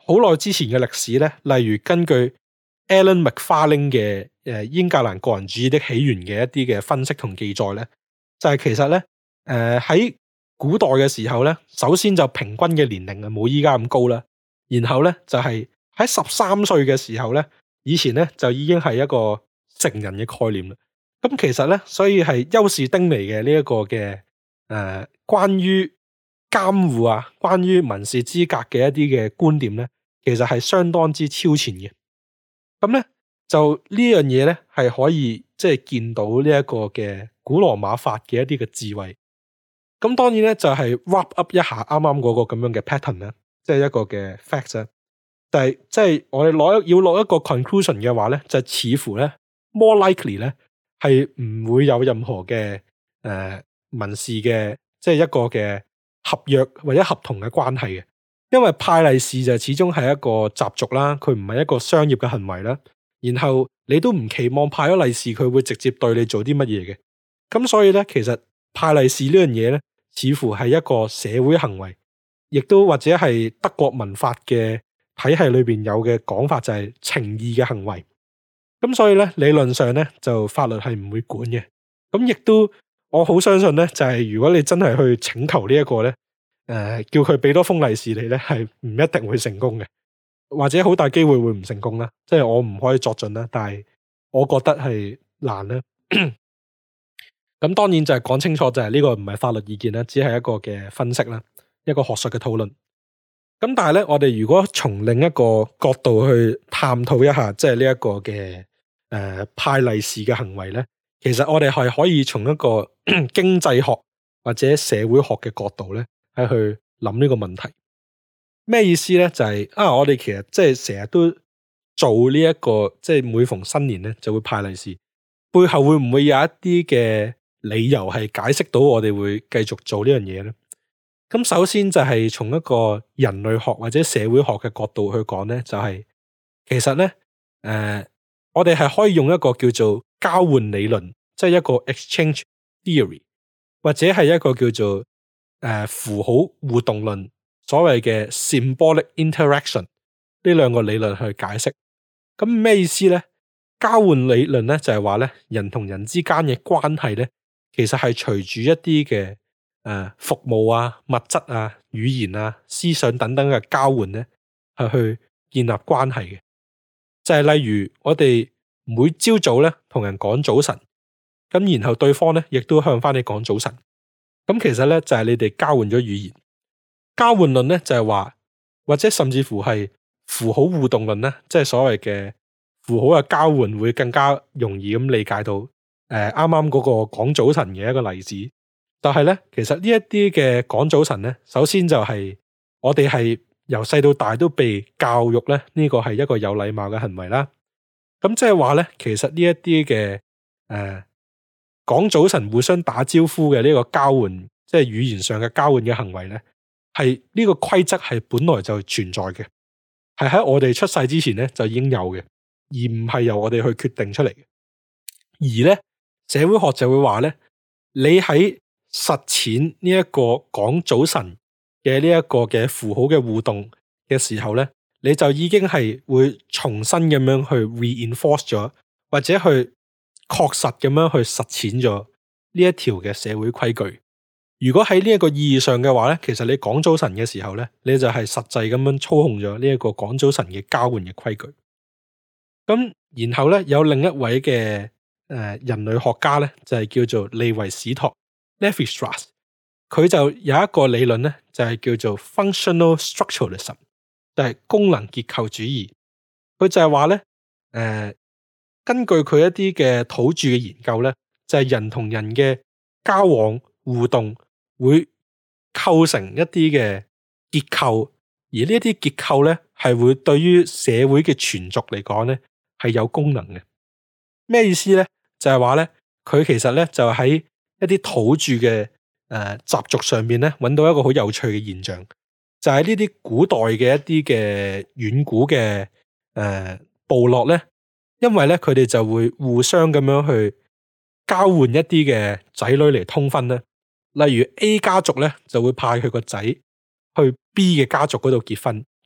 好耐之前嘅歷史咧，例如根據 Alan McFarlane 嘅英格蘭個人主義的起源嘅一啲嘅分析同記載咧，就係其實咧喺古代嘅時候咧，首先就平均嘅年齡冇依家咁高啦，然後咧就係喺13歲嘅時候咧，以前咧就已經係一個成人嘅概念啦。咁其實咧，所以係休士丁尼嘅呢一個嘅關於監護啊，關於民事資格嘅一啲嘅觀點咧，其實係相當之超前嘅。咁咧就呢樣嘢咧係可以即係見到呢一個嘅古羅馬法嘅一啲嘅智慧。咁當然咧就係 wrap up 一下啱啱嗰個咁樣嘅 pattern 咧，即係一個嘅 fact 咧。但係即係我哋要落一個 conclusion 嘅話咧，就似乎咧 more likely 咧係唔會有任何嘅民事嘅即係一個嘅合約或者合同嘅關係嘅，因為派利是就始終係一個習俗啦，佢唔係一個商業嘅行為啦。然後你都唔期望派咗利是佢會直接對你做啲乜嘢嘅，咁所以咧其實派利是呢樣嘢咧，似乎係一個社會行為，亦都或者係德國民法嘅體系裏邊有嘅講法就係情義嘅行為。咁所以咧理論上咧就法律係唔會管嘅。咁亦都我好相信咧就係如果你真係去請求呢一個咧叫佢俾多封利是你咧，係唔一定會成功嘅，或者好大機會會唔成功啦。即係我唔可以作準啦，但係我覺得係難啦。咁當然就係講清楚，就係呢個唔係法律意見啦，只係一個嘅分析啦，一個學術嘅討論。咁但係咧，我哋如果從另一個角度去探討一下，即係呢一個嘅派利是嘅行為咧，其實我哋係可以從一個經濟學或者社會學嘅角度咧，係去諗呢個問題。咩意思咧？就係我哋其實即係成日都做呢一個，即係每逢新年咧就會派利是，背後會唔會有一啲嘅理由係解釋到我哋會繼續做呢樣嘢咧？咁首先就係從一個人類學或者社會學嘅角度去講咧，就係其實咧我哋係可以用一個叫做交換理論，即係一個 exchange theory， 或者係一個叫做符號互動論，所謂嘅 symbolic interaction， 呢兩個理論去解釋。咁咩意思咧？交換理論咧就係話咧，人同人之間嘅關係咧，其實係隨住一啲嘅服務啊、物質啊、語言啊、思想等等嘅交換咧，係去建立關係嘅。就係例如我哋每朝早咧同人講早晨，咁然後對方咧亦都向翻你講早晨。咁其實咧就係你哋交換咗語言。交換論咧就係話，或者甚至乎係符號互動論咧，即係所謂嘅符號嘅交換會更加容易咁理解到啱啱嗰個講早晨嘅一個例子。但係咧，其實呢一啲嘅講早晨咧，首先就係我哋係由細到大都被教育咧，呢個係一個有禮貌嘅行為啦。咁即係話咧，其實呢一啲嘅講早晨互相打招呼嘅呢個交換，即係語言上嘅交換嘅行為咧，係呢個規則係本來就存在嘅，係喺我哋出世之前咧就已經有嘅，而唔係由我哋去決定出嚟嘅。而咧社會學就會話咧，你喺實踐呢一個講早晨嘅呢一個嘅符號嘅互動嘅時候咧，你就已經係會重新咁樣去 reinforce 咗，或者去確實咁樣去實踐咗呢一條嘅社會規矩。如果喺呢一個意義上嘅話咧，其實你講早晨嘅時候咧，你就係實際咁樣操控咗呢一個講早晨嘅交換嘅規矩。咁然後咧有另一位嘅人類學家咧，就係叫做利維史托 Lévi-Strauss， 佢就有一個理論咧，就係叫做 functional structuralism， 就係功能結構主義。佢就係話咧根據佢一啲嘅土著嘅研究咧，就係人同人嘅交往互動會構成一啲嘅結構，而呢一啲結構咧係會對於社會嘅存續嚟講咧係有功能嘅。咩意思咧？就係話咧，佢其實咧就喺一啲土著嘅習俗上面咧揾到一個好有趣嘅現象，就係呢啲古代嘅一啲嘅遠古嘅部落咧，因為咧佢哋就會互相咁樣去交換一啲嘅仔女嚟通婚咧。例如 A 家族咧就會派佢個仔去 B 嘅家族嗰度結婚，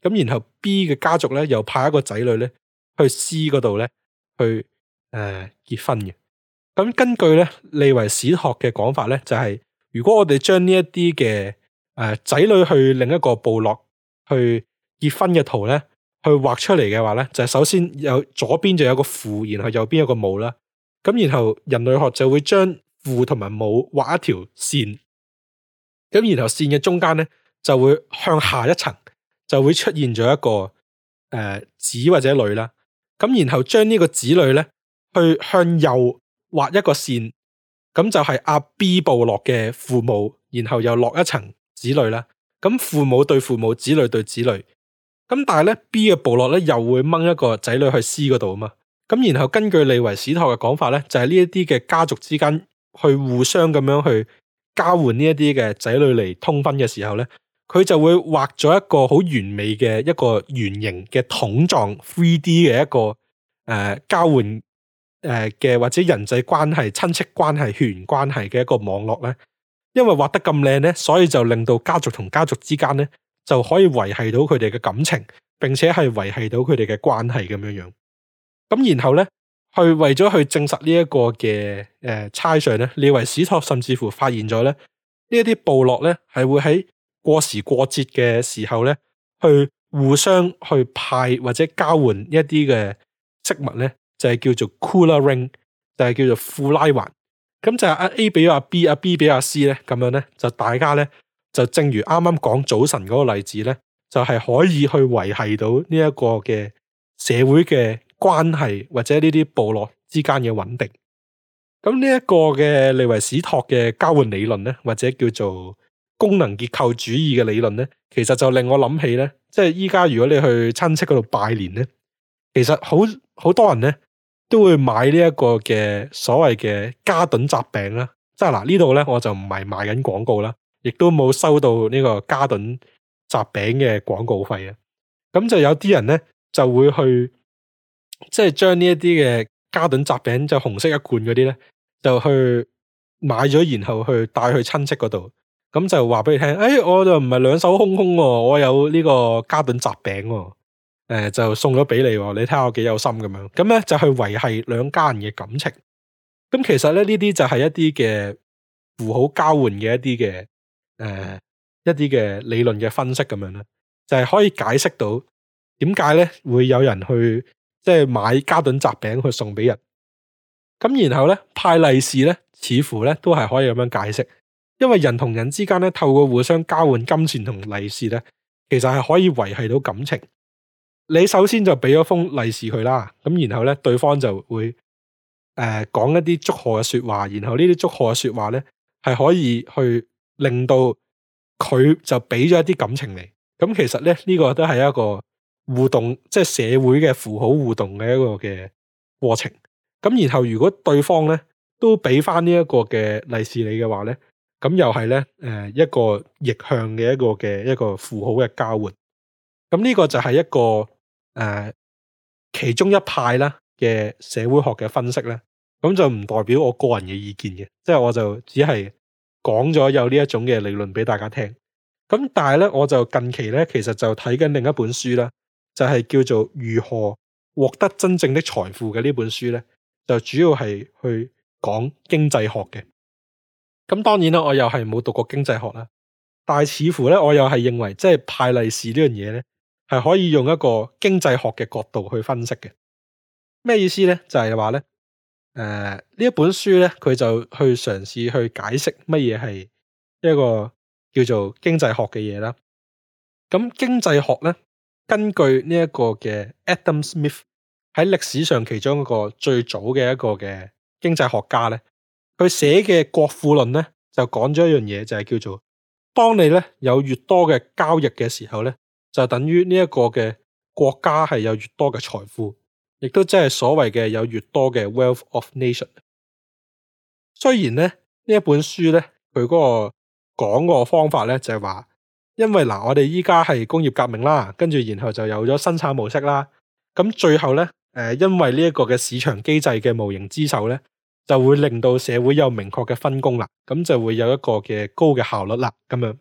咁然後 B 嘅家族咧又派一個仔女咧去 C 嗰度咧去結婚嘅。咁根據咧利維史托嘅講法咧，就係如果我哋將呢一啲嘅仔女去另一個部落去結婚嘅圖咧，去畫出嚟嘅話咧，就係首先有左邊就有個父，然後右邊有個母啦。咁然後人類學就會將父同埋母畫一條線，咁然後線嘅中間咧就會向下一層就會出現咗一個子或者女啦。咁然後將呢個子女咧去向右畫一個線，咁就係阿 B 部落嘅父母，然後又落一層子女啦。咁父母對父母，子女對子女。咁但係咧 B 嘅部落咧又會掹一個仔女去 C 嗰度啊嘛。咁然後根據利維史托嘅講法咧，就係呢一啲嘅家族之間去互相咁樣去交換呢一啲嘅仔女嚟通婚嘅時候咧，佢就會畫咗一個好完美嘅一個圓形嘅桶狀 3D 嘅一個交換嘅或者人際關係、親戚關係、血緣關係嘅一個網絡咧。因為畫得咁靚咧，所以就令到家族同家族之間咧就可以維繫到佢哋嘅感情，並且係維繫到佢哋嘅關係咁樣樣。咁然後咧，為咗去證實呢一個嘅猜想咧，利維史托甚至乎發現咗咧，呢一啲部落咧係會喺過時過節嘅時候咧，去互相去派或者交換一啲嘅飾物咧，就係叫做 Kula Ring， 就係叫做庫拉環。咁就係阿 A 俾咗阿 B， 阿 B 俾阿 C 咧，咁樣咧就大家咧就正如啱啱講早晨嗰個例子咧，就係可以去維繫到呢一個嘅社會嘅關係或者呢啲部落之間嘅穩定。咁呢一個嘅利維史托嘅交換理論咧，或者叫做功能結構主義嘅理論咧，其實就令我諗起咧，即係依家如果你去親戚嗰度拜年咧，其實好多人咧都會買呢一個嘅所謂嘅嘉頓雜餅啦。即係嗱，呢度咧我就唔係賣緊廣告啦，亦都冇收到呢個嘉頓雜餅嘅廣告費啊。咁就有啲人咧就會去即係將呢一啲嘅嘉頓雜餅就紅色一罐嗰啲咧，就去買咗，然後去帶去親戚嗰度，咁就話俾你聽，我就唔係兩手空空喎，我有呢個嘉頓雜餅喎，就送咗俾你，你睇下我幾有心咁樣，咁咧就去維繫兩家人嘅感情。咁其實咧呢啲就係一啲嘅符號交換嘅一啲嘅理論嘅分析咁樣啦，就係可以解釋到點解咧會有人去即係買嘉頓雜餅去送俾人。咁然後咧派利是咧，似乎咧都係可以咁樣解釋，因為人同人之間咧透過互相交換金錢同利是咧，其實係可以維繫到感情。你首先就俾咗封利是佢啦，咁然後咧對方就會講一啲祝賀嘅說話，然後呢啲祝賀嘅說話咧係可以去令到佢就俾咗一啲感情嚟。咁其實咧呢個都係一個互動，即係社會嘅符號互動嘅一個嘅過程。咁然後如果對方咧都俾翻呢一個嘅利是你嘅話咧，咁又係咧一個逆向嘅一個符號嘅交換。咁呢個就係一個其中一派啦嘅社會學嘅分析咧，咁就唔代表我個人嘅意見嘅，即係我就只係講咗有呢一種嘅理論俾大家聽。咁但係咧我就近期咧其實就睇緊另一本書啦，就係叫做如何獲得真正的財富嘅呢本書咧，就主要係去講經濟學嘅。咁當然啦，我又係冇讀過經濟學啦，但係似乎咧我又係認為即係派利是呢樣嘢咧係可以用一個經濟學嘅角度去分析嘅。咩意思咧？就係話咧呢一本書咧佢就去嘗試去解釋乜嘢係一個叫做經濟學嘅嘢啦。咁經濟學咧根據呢一個嘅 Adam Smith 喺歷史上其中一個最早嘅一個嘅經濟學家咧，佢寫嘅《國富論》咧就講咗一樣嘢，就係叫做當你咧有越多嘅交易嘅時候咧，就等於呢一個嘅國家係有越多嘅財富，亦都即係所謂嘅有越多嘅 wealth of nation。雖然咧呢一本書咧佢嗰個講個方法咧就係話，因為嗱我哋依家係工業革命啦，跟住然後就有咗生產模式啦，咁最後咧因為呢一個嘅市場機制嘅無形之手咧，就會令到社會有明確嘅分工啦，咁就會有一個嘅高嘅效率啦咁樣。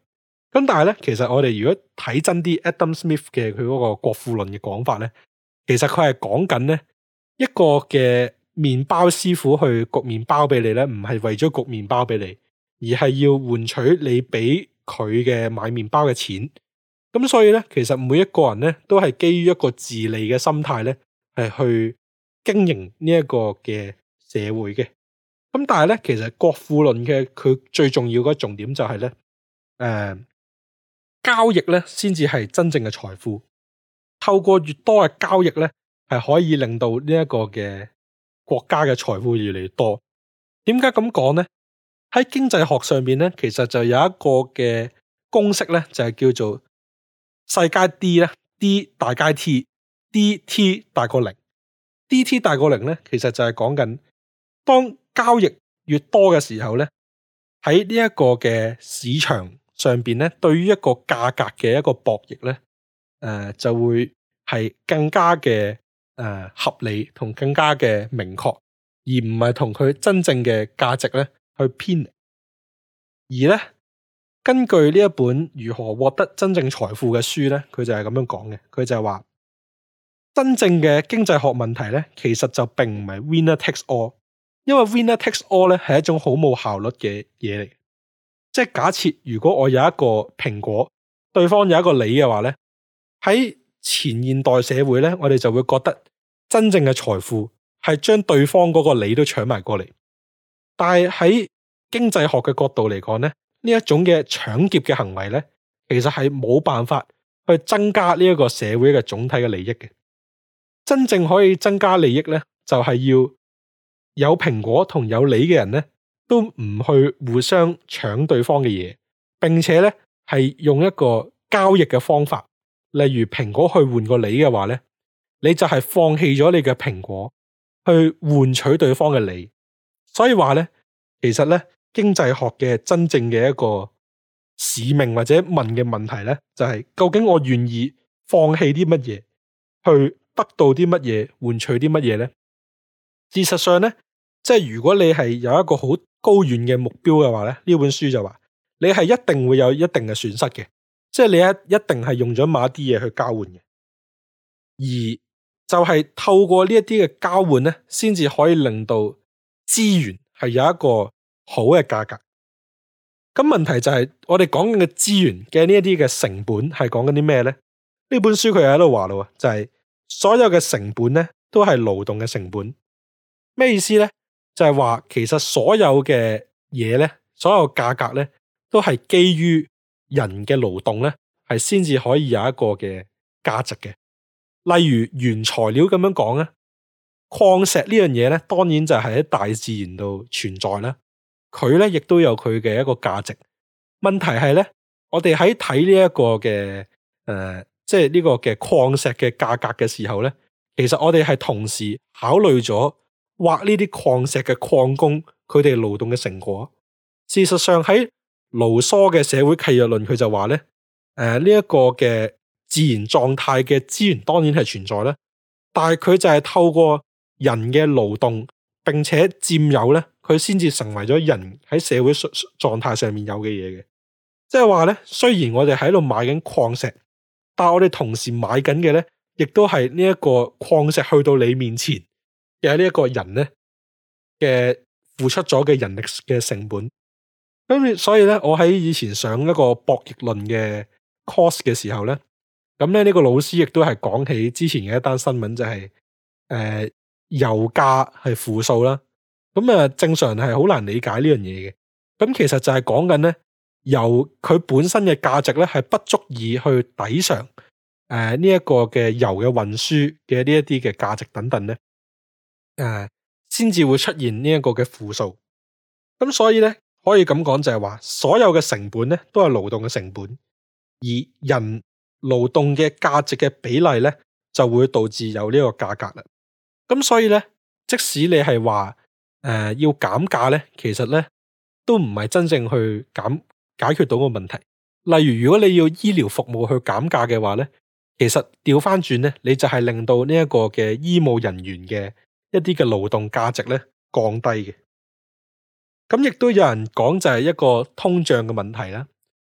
咁但係咧，其實我哋如果睇真啲 Adam Smith 嘅佢嗰個國富論嘅講法咧，其實佢係講緊咧一個嘅麵包師傅去焗麵包俾你咧，唔係為咗焗麵包俾你，而係要換取你俾佢嘅買麵包嘅錢。咁所以咧，其實每一個人咧都係基於一個自利嘅心態咧，係去經營呢一個嘅社會嘅。咁但係咧，其實國富論嘅佢最重要嘅重點就係咧，交易咧先至係真正嘅財富。透過越多嘅交易咧，係可以令到呢一個嘅國家嘅財富越嚟越多。點解咁講咧？喺經濟學上邊咧，其實就有一個嘅公式咧，就係叫做細階 D 咧 ，D 大階 T，DT 大過零。DT 大過零咧，其實就係講緊當交易越多嘅時候咧，喺呢一個嘅市場上邊咧，對於一個價格嘅一個博弈咧，就會係更加嘅合理同更加嘅明確，而唔係同佢真正嘅價值咧去偏離。而咧，根據呢一本如何獲得真正財富嘅書咧，佢就係咁樣講嘅。佢就係話，真正嘅經濟學問題咧，其實就並唔係 winner takes all， 因為 winner takes all 咧係一種好冇效率嘅嘢嚟。即係假設如果我有一個蘋果，對方有一個梨嘅話咧，喺前現代社會咧，我哋就會覺得真正嘅財富係將對方嗰個梨都搶埋過嚟。但係喺經濟學嘅角度嚟講咧，呢一種嘅搶劫嘅行為咧，其實係冇辦法去增加呢一個社會嘅總體嘅利益嘅。真正可以增加利益咧，就係要有蘋果同有梨嘅人咧，都唔去互相搶對方嘅嘢，並且咧係用一個交易嘅方法，例如蘋果去換個梨嘅話咧，你就係放棄咗你嘅蘋果去換取對方嘅梨。所以話咧，其實咧經濟學嘅真正嘅一個使命或者問嘅問題咧，就係究竟我願意放棄啲乜嘢去得到啲乜嘢，換取啲乜嘢咧？事實上咧，即係如果你係有一個好高遠嘅目標嘅話咧，呢本書就話你係一定會有一定嘅損失嘅，即係你一定係用咗某一啲嘢去交換嘅，而就係透過呢一啲嘅交換咧，先至可以令到資源係有一個好嘅價格。咁問題就係我哋講緊嘅資源嘅呢一啲嘅成本係講緊啲咩咧？呢本書佢又喺度話咯，就係所有嘅成本咧都係勞動嘅成本。咩意思咧？就係話其實所有嘅嘢咧，所有價格咧，都係基於人嘅勞動咧，係先至可以有一個嘅價值嘅。例如原材料咁樣講咧，礦石呢樣嘢咧，當然就係喺大自然度存在啦。佢咧亦都有佢嘅一個價值。問題係咧，我哋喺睇呢一個嘅即係呢個嘅礦石嘅價格嘅時候咧，其實我哋係同時考慮咗挖呢啲礦石嘅礦工佢哋勞動嘅成果。事實上喺盧梭嘅社會契約論，佢就話咧，呢一個嘅自然狀態嘅資源當然係存在啦，但係佢就係透過人嘅勞動並且佔有咧，佢先至成為咗人喺社會狀態上面有嘅嘢嘅。即係話咧，雖然我哋喺度買緊礦石，但係我哋同時買緊嘅咧，亦都係呢一個礦石去到你面前嘅呢一個人咧嘅付出咗嘅人力嘅成本。咁所以咧，我喺以前上一個博弈論嘅 course 嘅時候咧，咁咧呢個老師亦都係講起之前嘅一單新聞，就係油價係負數啦。咁正常係好難理解呢樣嘢嘅。咁其實就係講緊咧，油佢本身嘅價值咧係不足以去抵償呢一個嘅油嘅運輸嘅呢一啲嘅價值等等咧，先至會出現呢一個嘅負數。咁所以咧，可以咁講就係話，所有嘅成本咧都係勞動嘅成本，而人勞動嘅價值嘅比例咧就會導致有呢個價格啦。咁所以咧，即使你係話要減價咧，其實咧都唔係真正去解決到個問題。例如如果你要醫療服務去減價嘅話咧，其實調翻轉咧，你就係令到呢一個嘅醫務人員嘅一啲嘅勞動價值咧降低嘅。咁亦都有人講就係一個通脹嘅問題啦。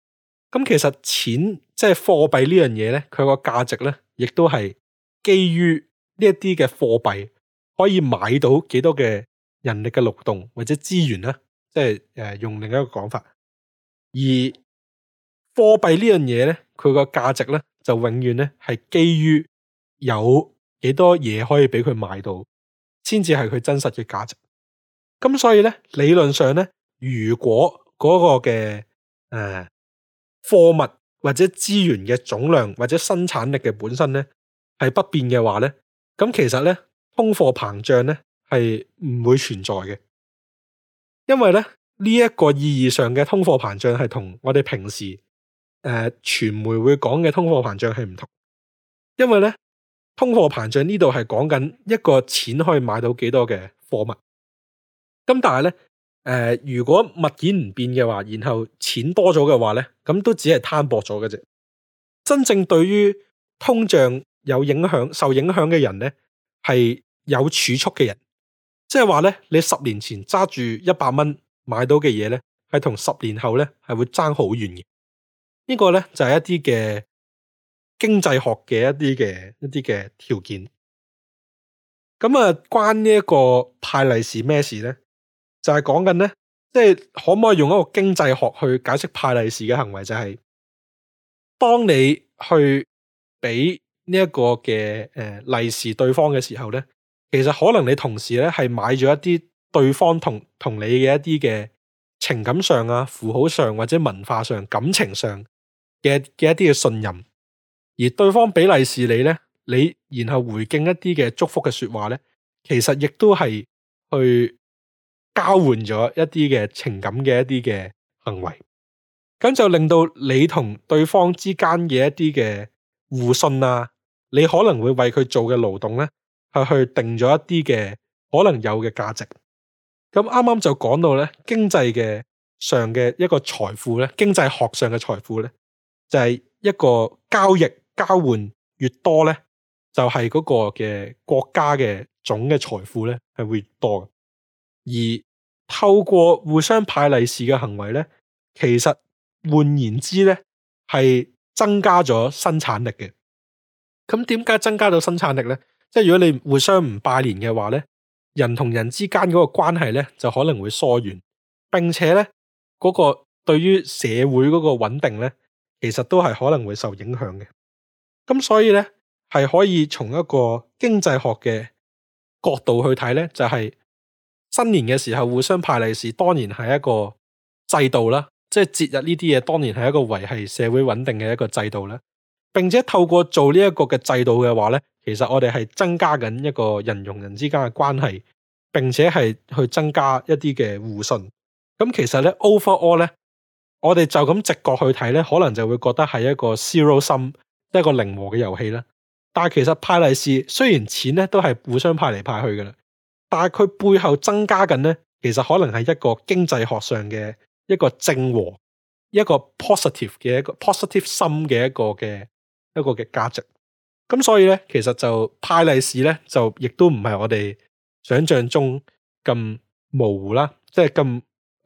咁其實錢即係貨幣呢樣嘢咧，佢個價值咧，亦都係基於呢一啲嘅貨幣可以買到幾多嘅人力嘅勞動或者資源咧，即係用另一個講法。而貨幣呢樣嘢咧，佢個價值咧就永遠咧係基於有幾多嘢可以俾佢買到，先至係佢真實嘅價值。咁所以咧，理論上咧，如果嗰個嘅貨物或者資源嘅總量或者生產力嘅本身咧係不變嘅話咧，咁其實咧通貨膨脹咧係唔會存在嘅，因為咧呢一個意義上嘅通貨膨脹係同我哋平時傳媒會講嘅通貨膨脹係唔同，因為咧通貨膨脹呢度係講緊一個錢可以買到幾多嘅貨物，咁但係咧如果物件唔變嘅話，然後錢多咗嘅話咧，咁都只係攤薄咗嘅啫。真正對於通脹有影響、受影響嘅人咧，係有儲蓄嘅人，即係話咧，你10年前揸住100蚊買到嘅嘢咧，係同10年後咧係會爭好遠嘅。呢個咧就係一啲嘅經濟學嘅一啲嘅條件。咁啊，關呢一個派利是咩事咧？就係講緊咧，即係可唔可以用一個經濟學去解釋派利是嘅行為？就係當你去俾呢一個嘅利是對方嘅時候咧，其實可能你同時咧係買咗一啲對方同你嘅一啲嘅情感上啊、符號上或者文化上、感情上嘅一啲嘅信任，而對方俾利是你咧，你然後回敬一啲嘅祝福嘅說話咧，其實亦都係去交換咗一啲嘅情感嘅一啲嘅行為，咁就令到你同對方之間嘅一啲嘅互信啊，你可能會為佢做嘅勞動咧，係去定咗一啲嘅可能有嘅價值。咁啱啱就講到咧，經濟嘅上嘅一個財富咧，經濟學上嘅財富咧，就係一個交易交換越多咧，就係嗰個嘅國家嘅總嘅財富咧係會越多嘅。而透過互相派利是嘅行為咧，其實換言之咧係增加咗生產力嘅。咁點解增加到生產力咧？即係如果你互相唔拜年嘅話咧，人同人之間嗰個關係咧就可能會疏遠，並且咧嗰個對於社會嗰個穩定咧，其實都係可能會受影響嘅。咁所以咧係可以從一個經濟學嘅角度去睇咧，就係新年嘅時候互相派利是，當然係一個制度啦，即係節日呢啲嘢，當然係一個維繫社會穩定嘅一個制度啦。並且透過做呢一個嘅制度嘅話咧，其實我哋係增加緊一個人同人之間嘅關係，並且係去增加一啲嘅互信。咁其實咧 overall 咧，我哋就咁直覺去睇咧，可能就會覺得係一個 zero sum，一個零和嘅遊戲啦。但係其實派利是雖然錢咧都係互相派嚟派去噶啦，但係佢背後增加緊咧，其實可能係一個經濟學上嘅一個正和，一個 positive 嘅一個 positive sum 嘅一個嘅價值。咁所以咧，其實就派利是咧，就亦都唔係我哋想象中咁模糊啦，即係咁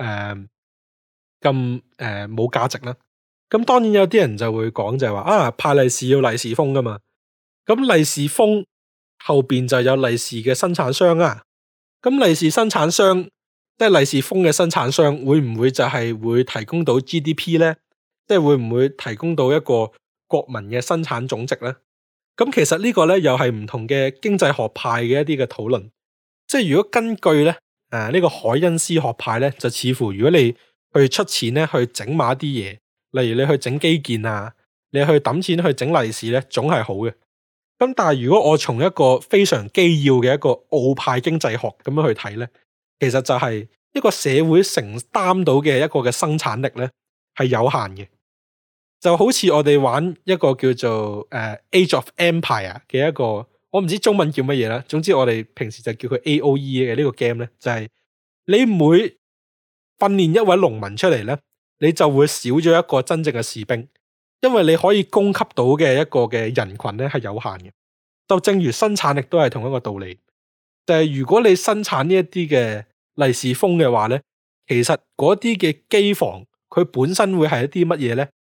冇價值啦。咁當然有啲人就會講就係話啊，派利是要利是封噶嘛。咁利是封後邊就有利是嘅生產商啊。咁利是生產商即係利是封嘅生產商，會唔會就係會提供到 GDP 咧？即係會唔會提供到一個國民嘅生產總值咧？咁其實呢個咧又係唔同嘅經濟學派嘅一啲嘅討論。即係如果根據咧呢個凱恩斯學派咧，就似乎如果你去出錢咧去整埋一啲嘢，例如你去整基建啊，你去抌錢去整利是咧，總係好嘅。咁但係如果我從一個非常基要嘅一個奧派經濟學咁樣去睇咧，其實就係一個社會承擔到嘅一個嘅生產力咧係有限嘅。就好似我哋玩一個叫做Age of Empire 嘅一個，我唔知中文叫乜嘢啦。總之我哋平時就叫佢 AOE 嘅呢個 game 咧，就係你每訓練一位農民出嚟咧，你就會少咗一個真正嘅士兵，因為你可以供給到嘅一個嘅人群咧係有限嘅。就正如生產力都係同一個道理，就係如果你生產呢一啲嘅利是封嘅話咧，其實嗰啲嘅機房佢本身會係一啲乜嘢咧？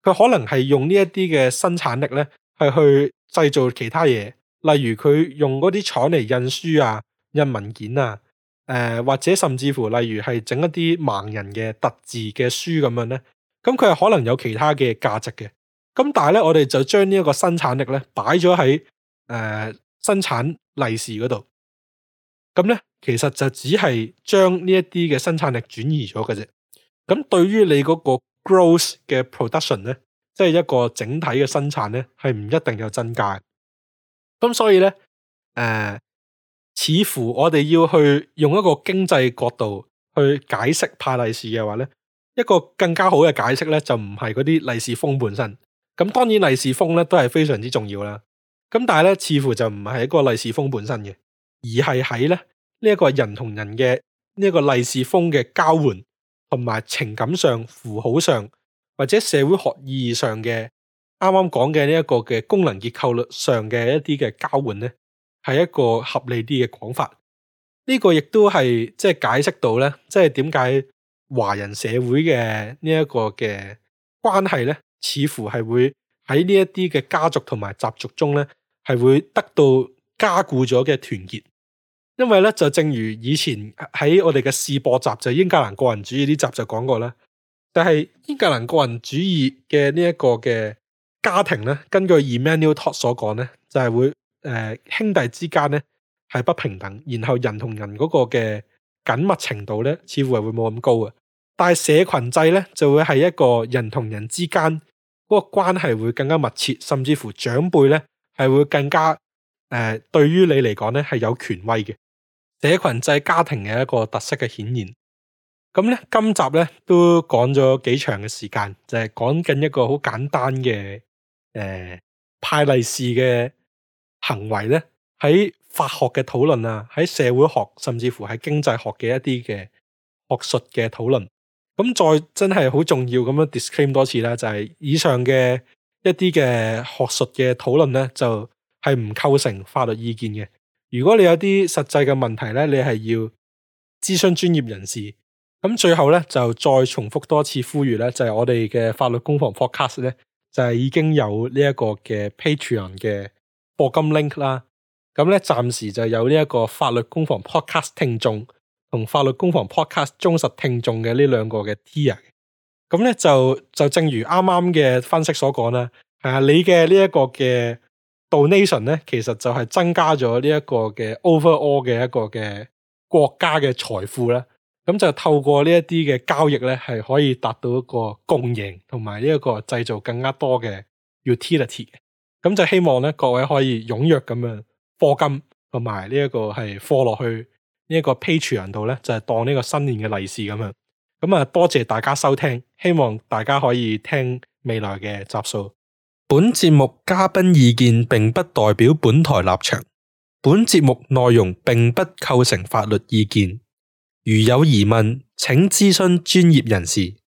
佢可能係用呢一啲嘅生產力咧，係去製造其他嘢，例如佢用嗰啲廠嚟印書啊、印文件啊，或者甚至乎例如係整一啲盲人嘅特字嘅書咁樣咧，咁佢係可能有其他嘅價值嘅。咁但係咧，我哋就將呢一個生產力咧擺咗喺生產利是嗰度，咁咧其實就只係將呢一啲嘅生產力轉移咗嘅啫。咁對於你嗰個 gross 嘅 production 咧，即係一個整體嘅生產咧，係唔一定有增加。咁所以咧，似乎我哋要去用一個經濟角度去解釋派利是嘅話咧，一個更加好嘅解釋咧，就唔係嗰啲利是封本身。咁當然利是封咧都係非常之重要啦。咁但係咧，似乎就唔係一個利是封本身嘅，而係喺咧呢一個人同人嘅呢一個利是封嘅交換，同埋情感上、符號上或者社會學意義上嘅啱啱講嘅呢一個嘅功能結構上嘅一啲嘅交換咧，係一個合理啲嘅講法。呢個亦都係即係解釋到咧，即係點解華人社會嘅呢一個嘅關係咧，似乎係會喺呢一啲嘅家族同埋習俗中咧，係會得到加固咗嘅團結。因為咧，就正如以前喺我哋嘅試播集，就英格蘭個人主義呢集就講過啦，就係英格蘭個人主義嘅呢一個嘅家庭咧，根據 Emanuel Todd 所講咧，就係會兄弟之間咧係不平等，然後人同人嗰個嘅緊密程度咧，似乎係會冇咁高嘅。但係社群制咧，就會係一個人同人之間嗰個關係會更加密切，甚至乎長輩咧係會更加對於你嚟講咧係有權威嘅。社群制家庭嘅一個特色嘅顯現。咁咧，今集咧都講咗幾長嘅時間，就係講緊一個好簡單嘅派利是嘅行為咧，喺法學嘅討論啊，喺社會學甚至乎喺經濟學嘅一啲嘅學術嘅討論。咁再真係好重要咁樣 disclaim 多次啦，就係以上嘅一啲嘅學術嘅討論咧，就係唔構成法律意見嘅。如果你有啲實際嘅問題咧，你係要諮詢專業人士。咁最後咧就再重複多次呼籲咧，就係我哋嘅法律攻防 podcast 咧，就係已經有呢一個嘅 Patreon 嘅課金 link 啦。咁咧暫時就有呢一個法律攻防 podcast 聽眾同法律攻防 podcast 忠實聽眾嘅呢兩個嘅 tier。咁咧就正如啱啱嘅分析所講啦，你嘅呢一個嘅donation 咧，其實就係增加咗呢一個嘅 overall 嘅一個嘅國家嘅財富啦。咁就透過呢一啲嘅交易咧，係可以達到一個共贏，同埋呢一個製造更加多嘅 utility 嘅。咁就希望咧，各位可以踴躍咁樣課金，同埋呢一個係課落去呢一個 Patreon 度咧，就係當呢個新年嘅利是咁樣。咁啊，多謝大家收聽，希望大家可以聽未來嘅集數。本節目嘉賓意見並不代表本台立場，本節目內容並不構成法律意見。如有疑問，請諮詢專業人士。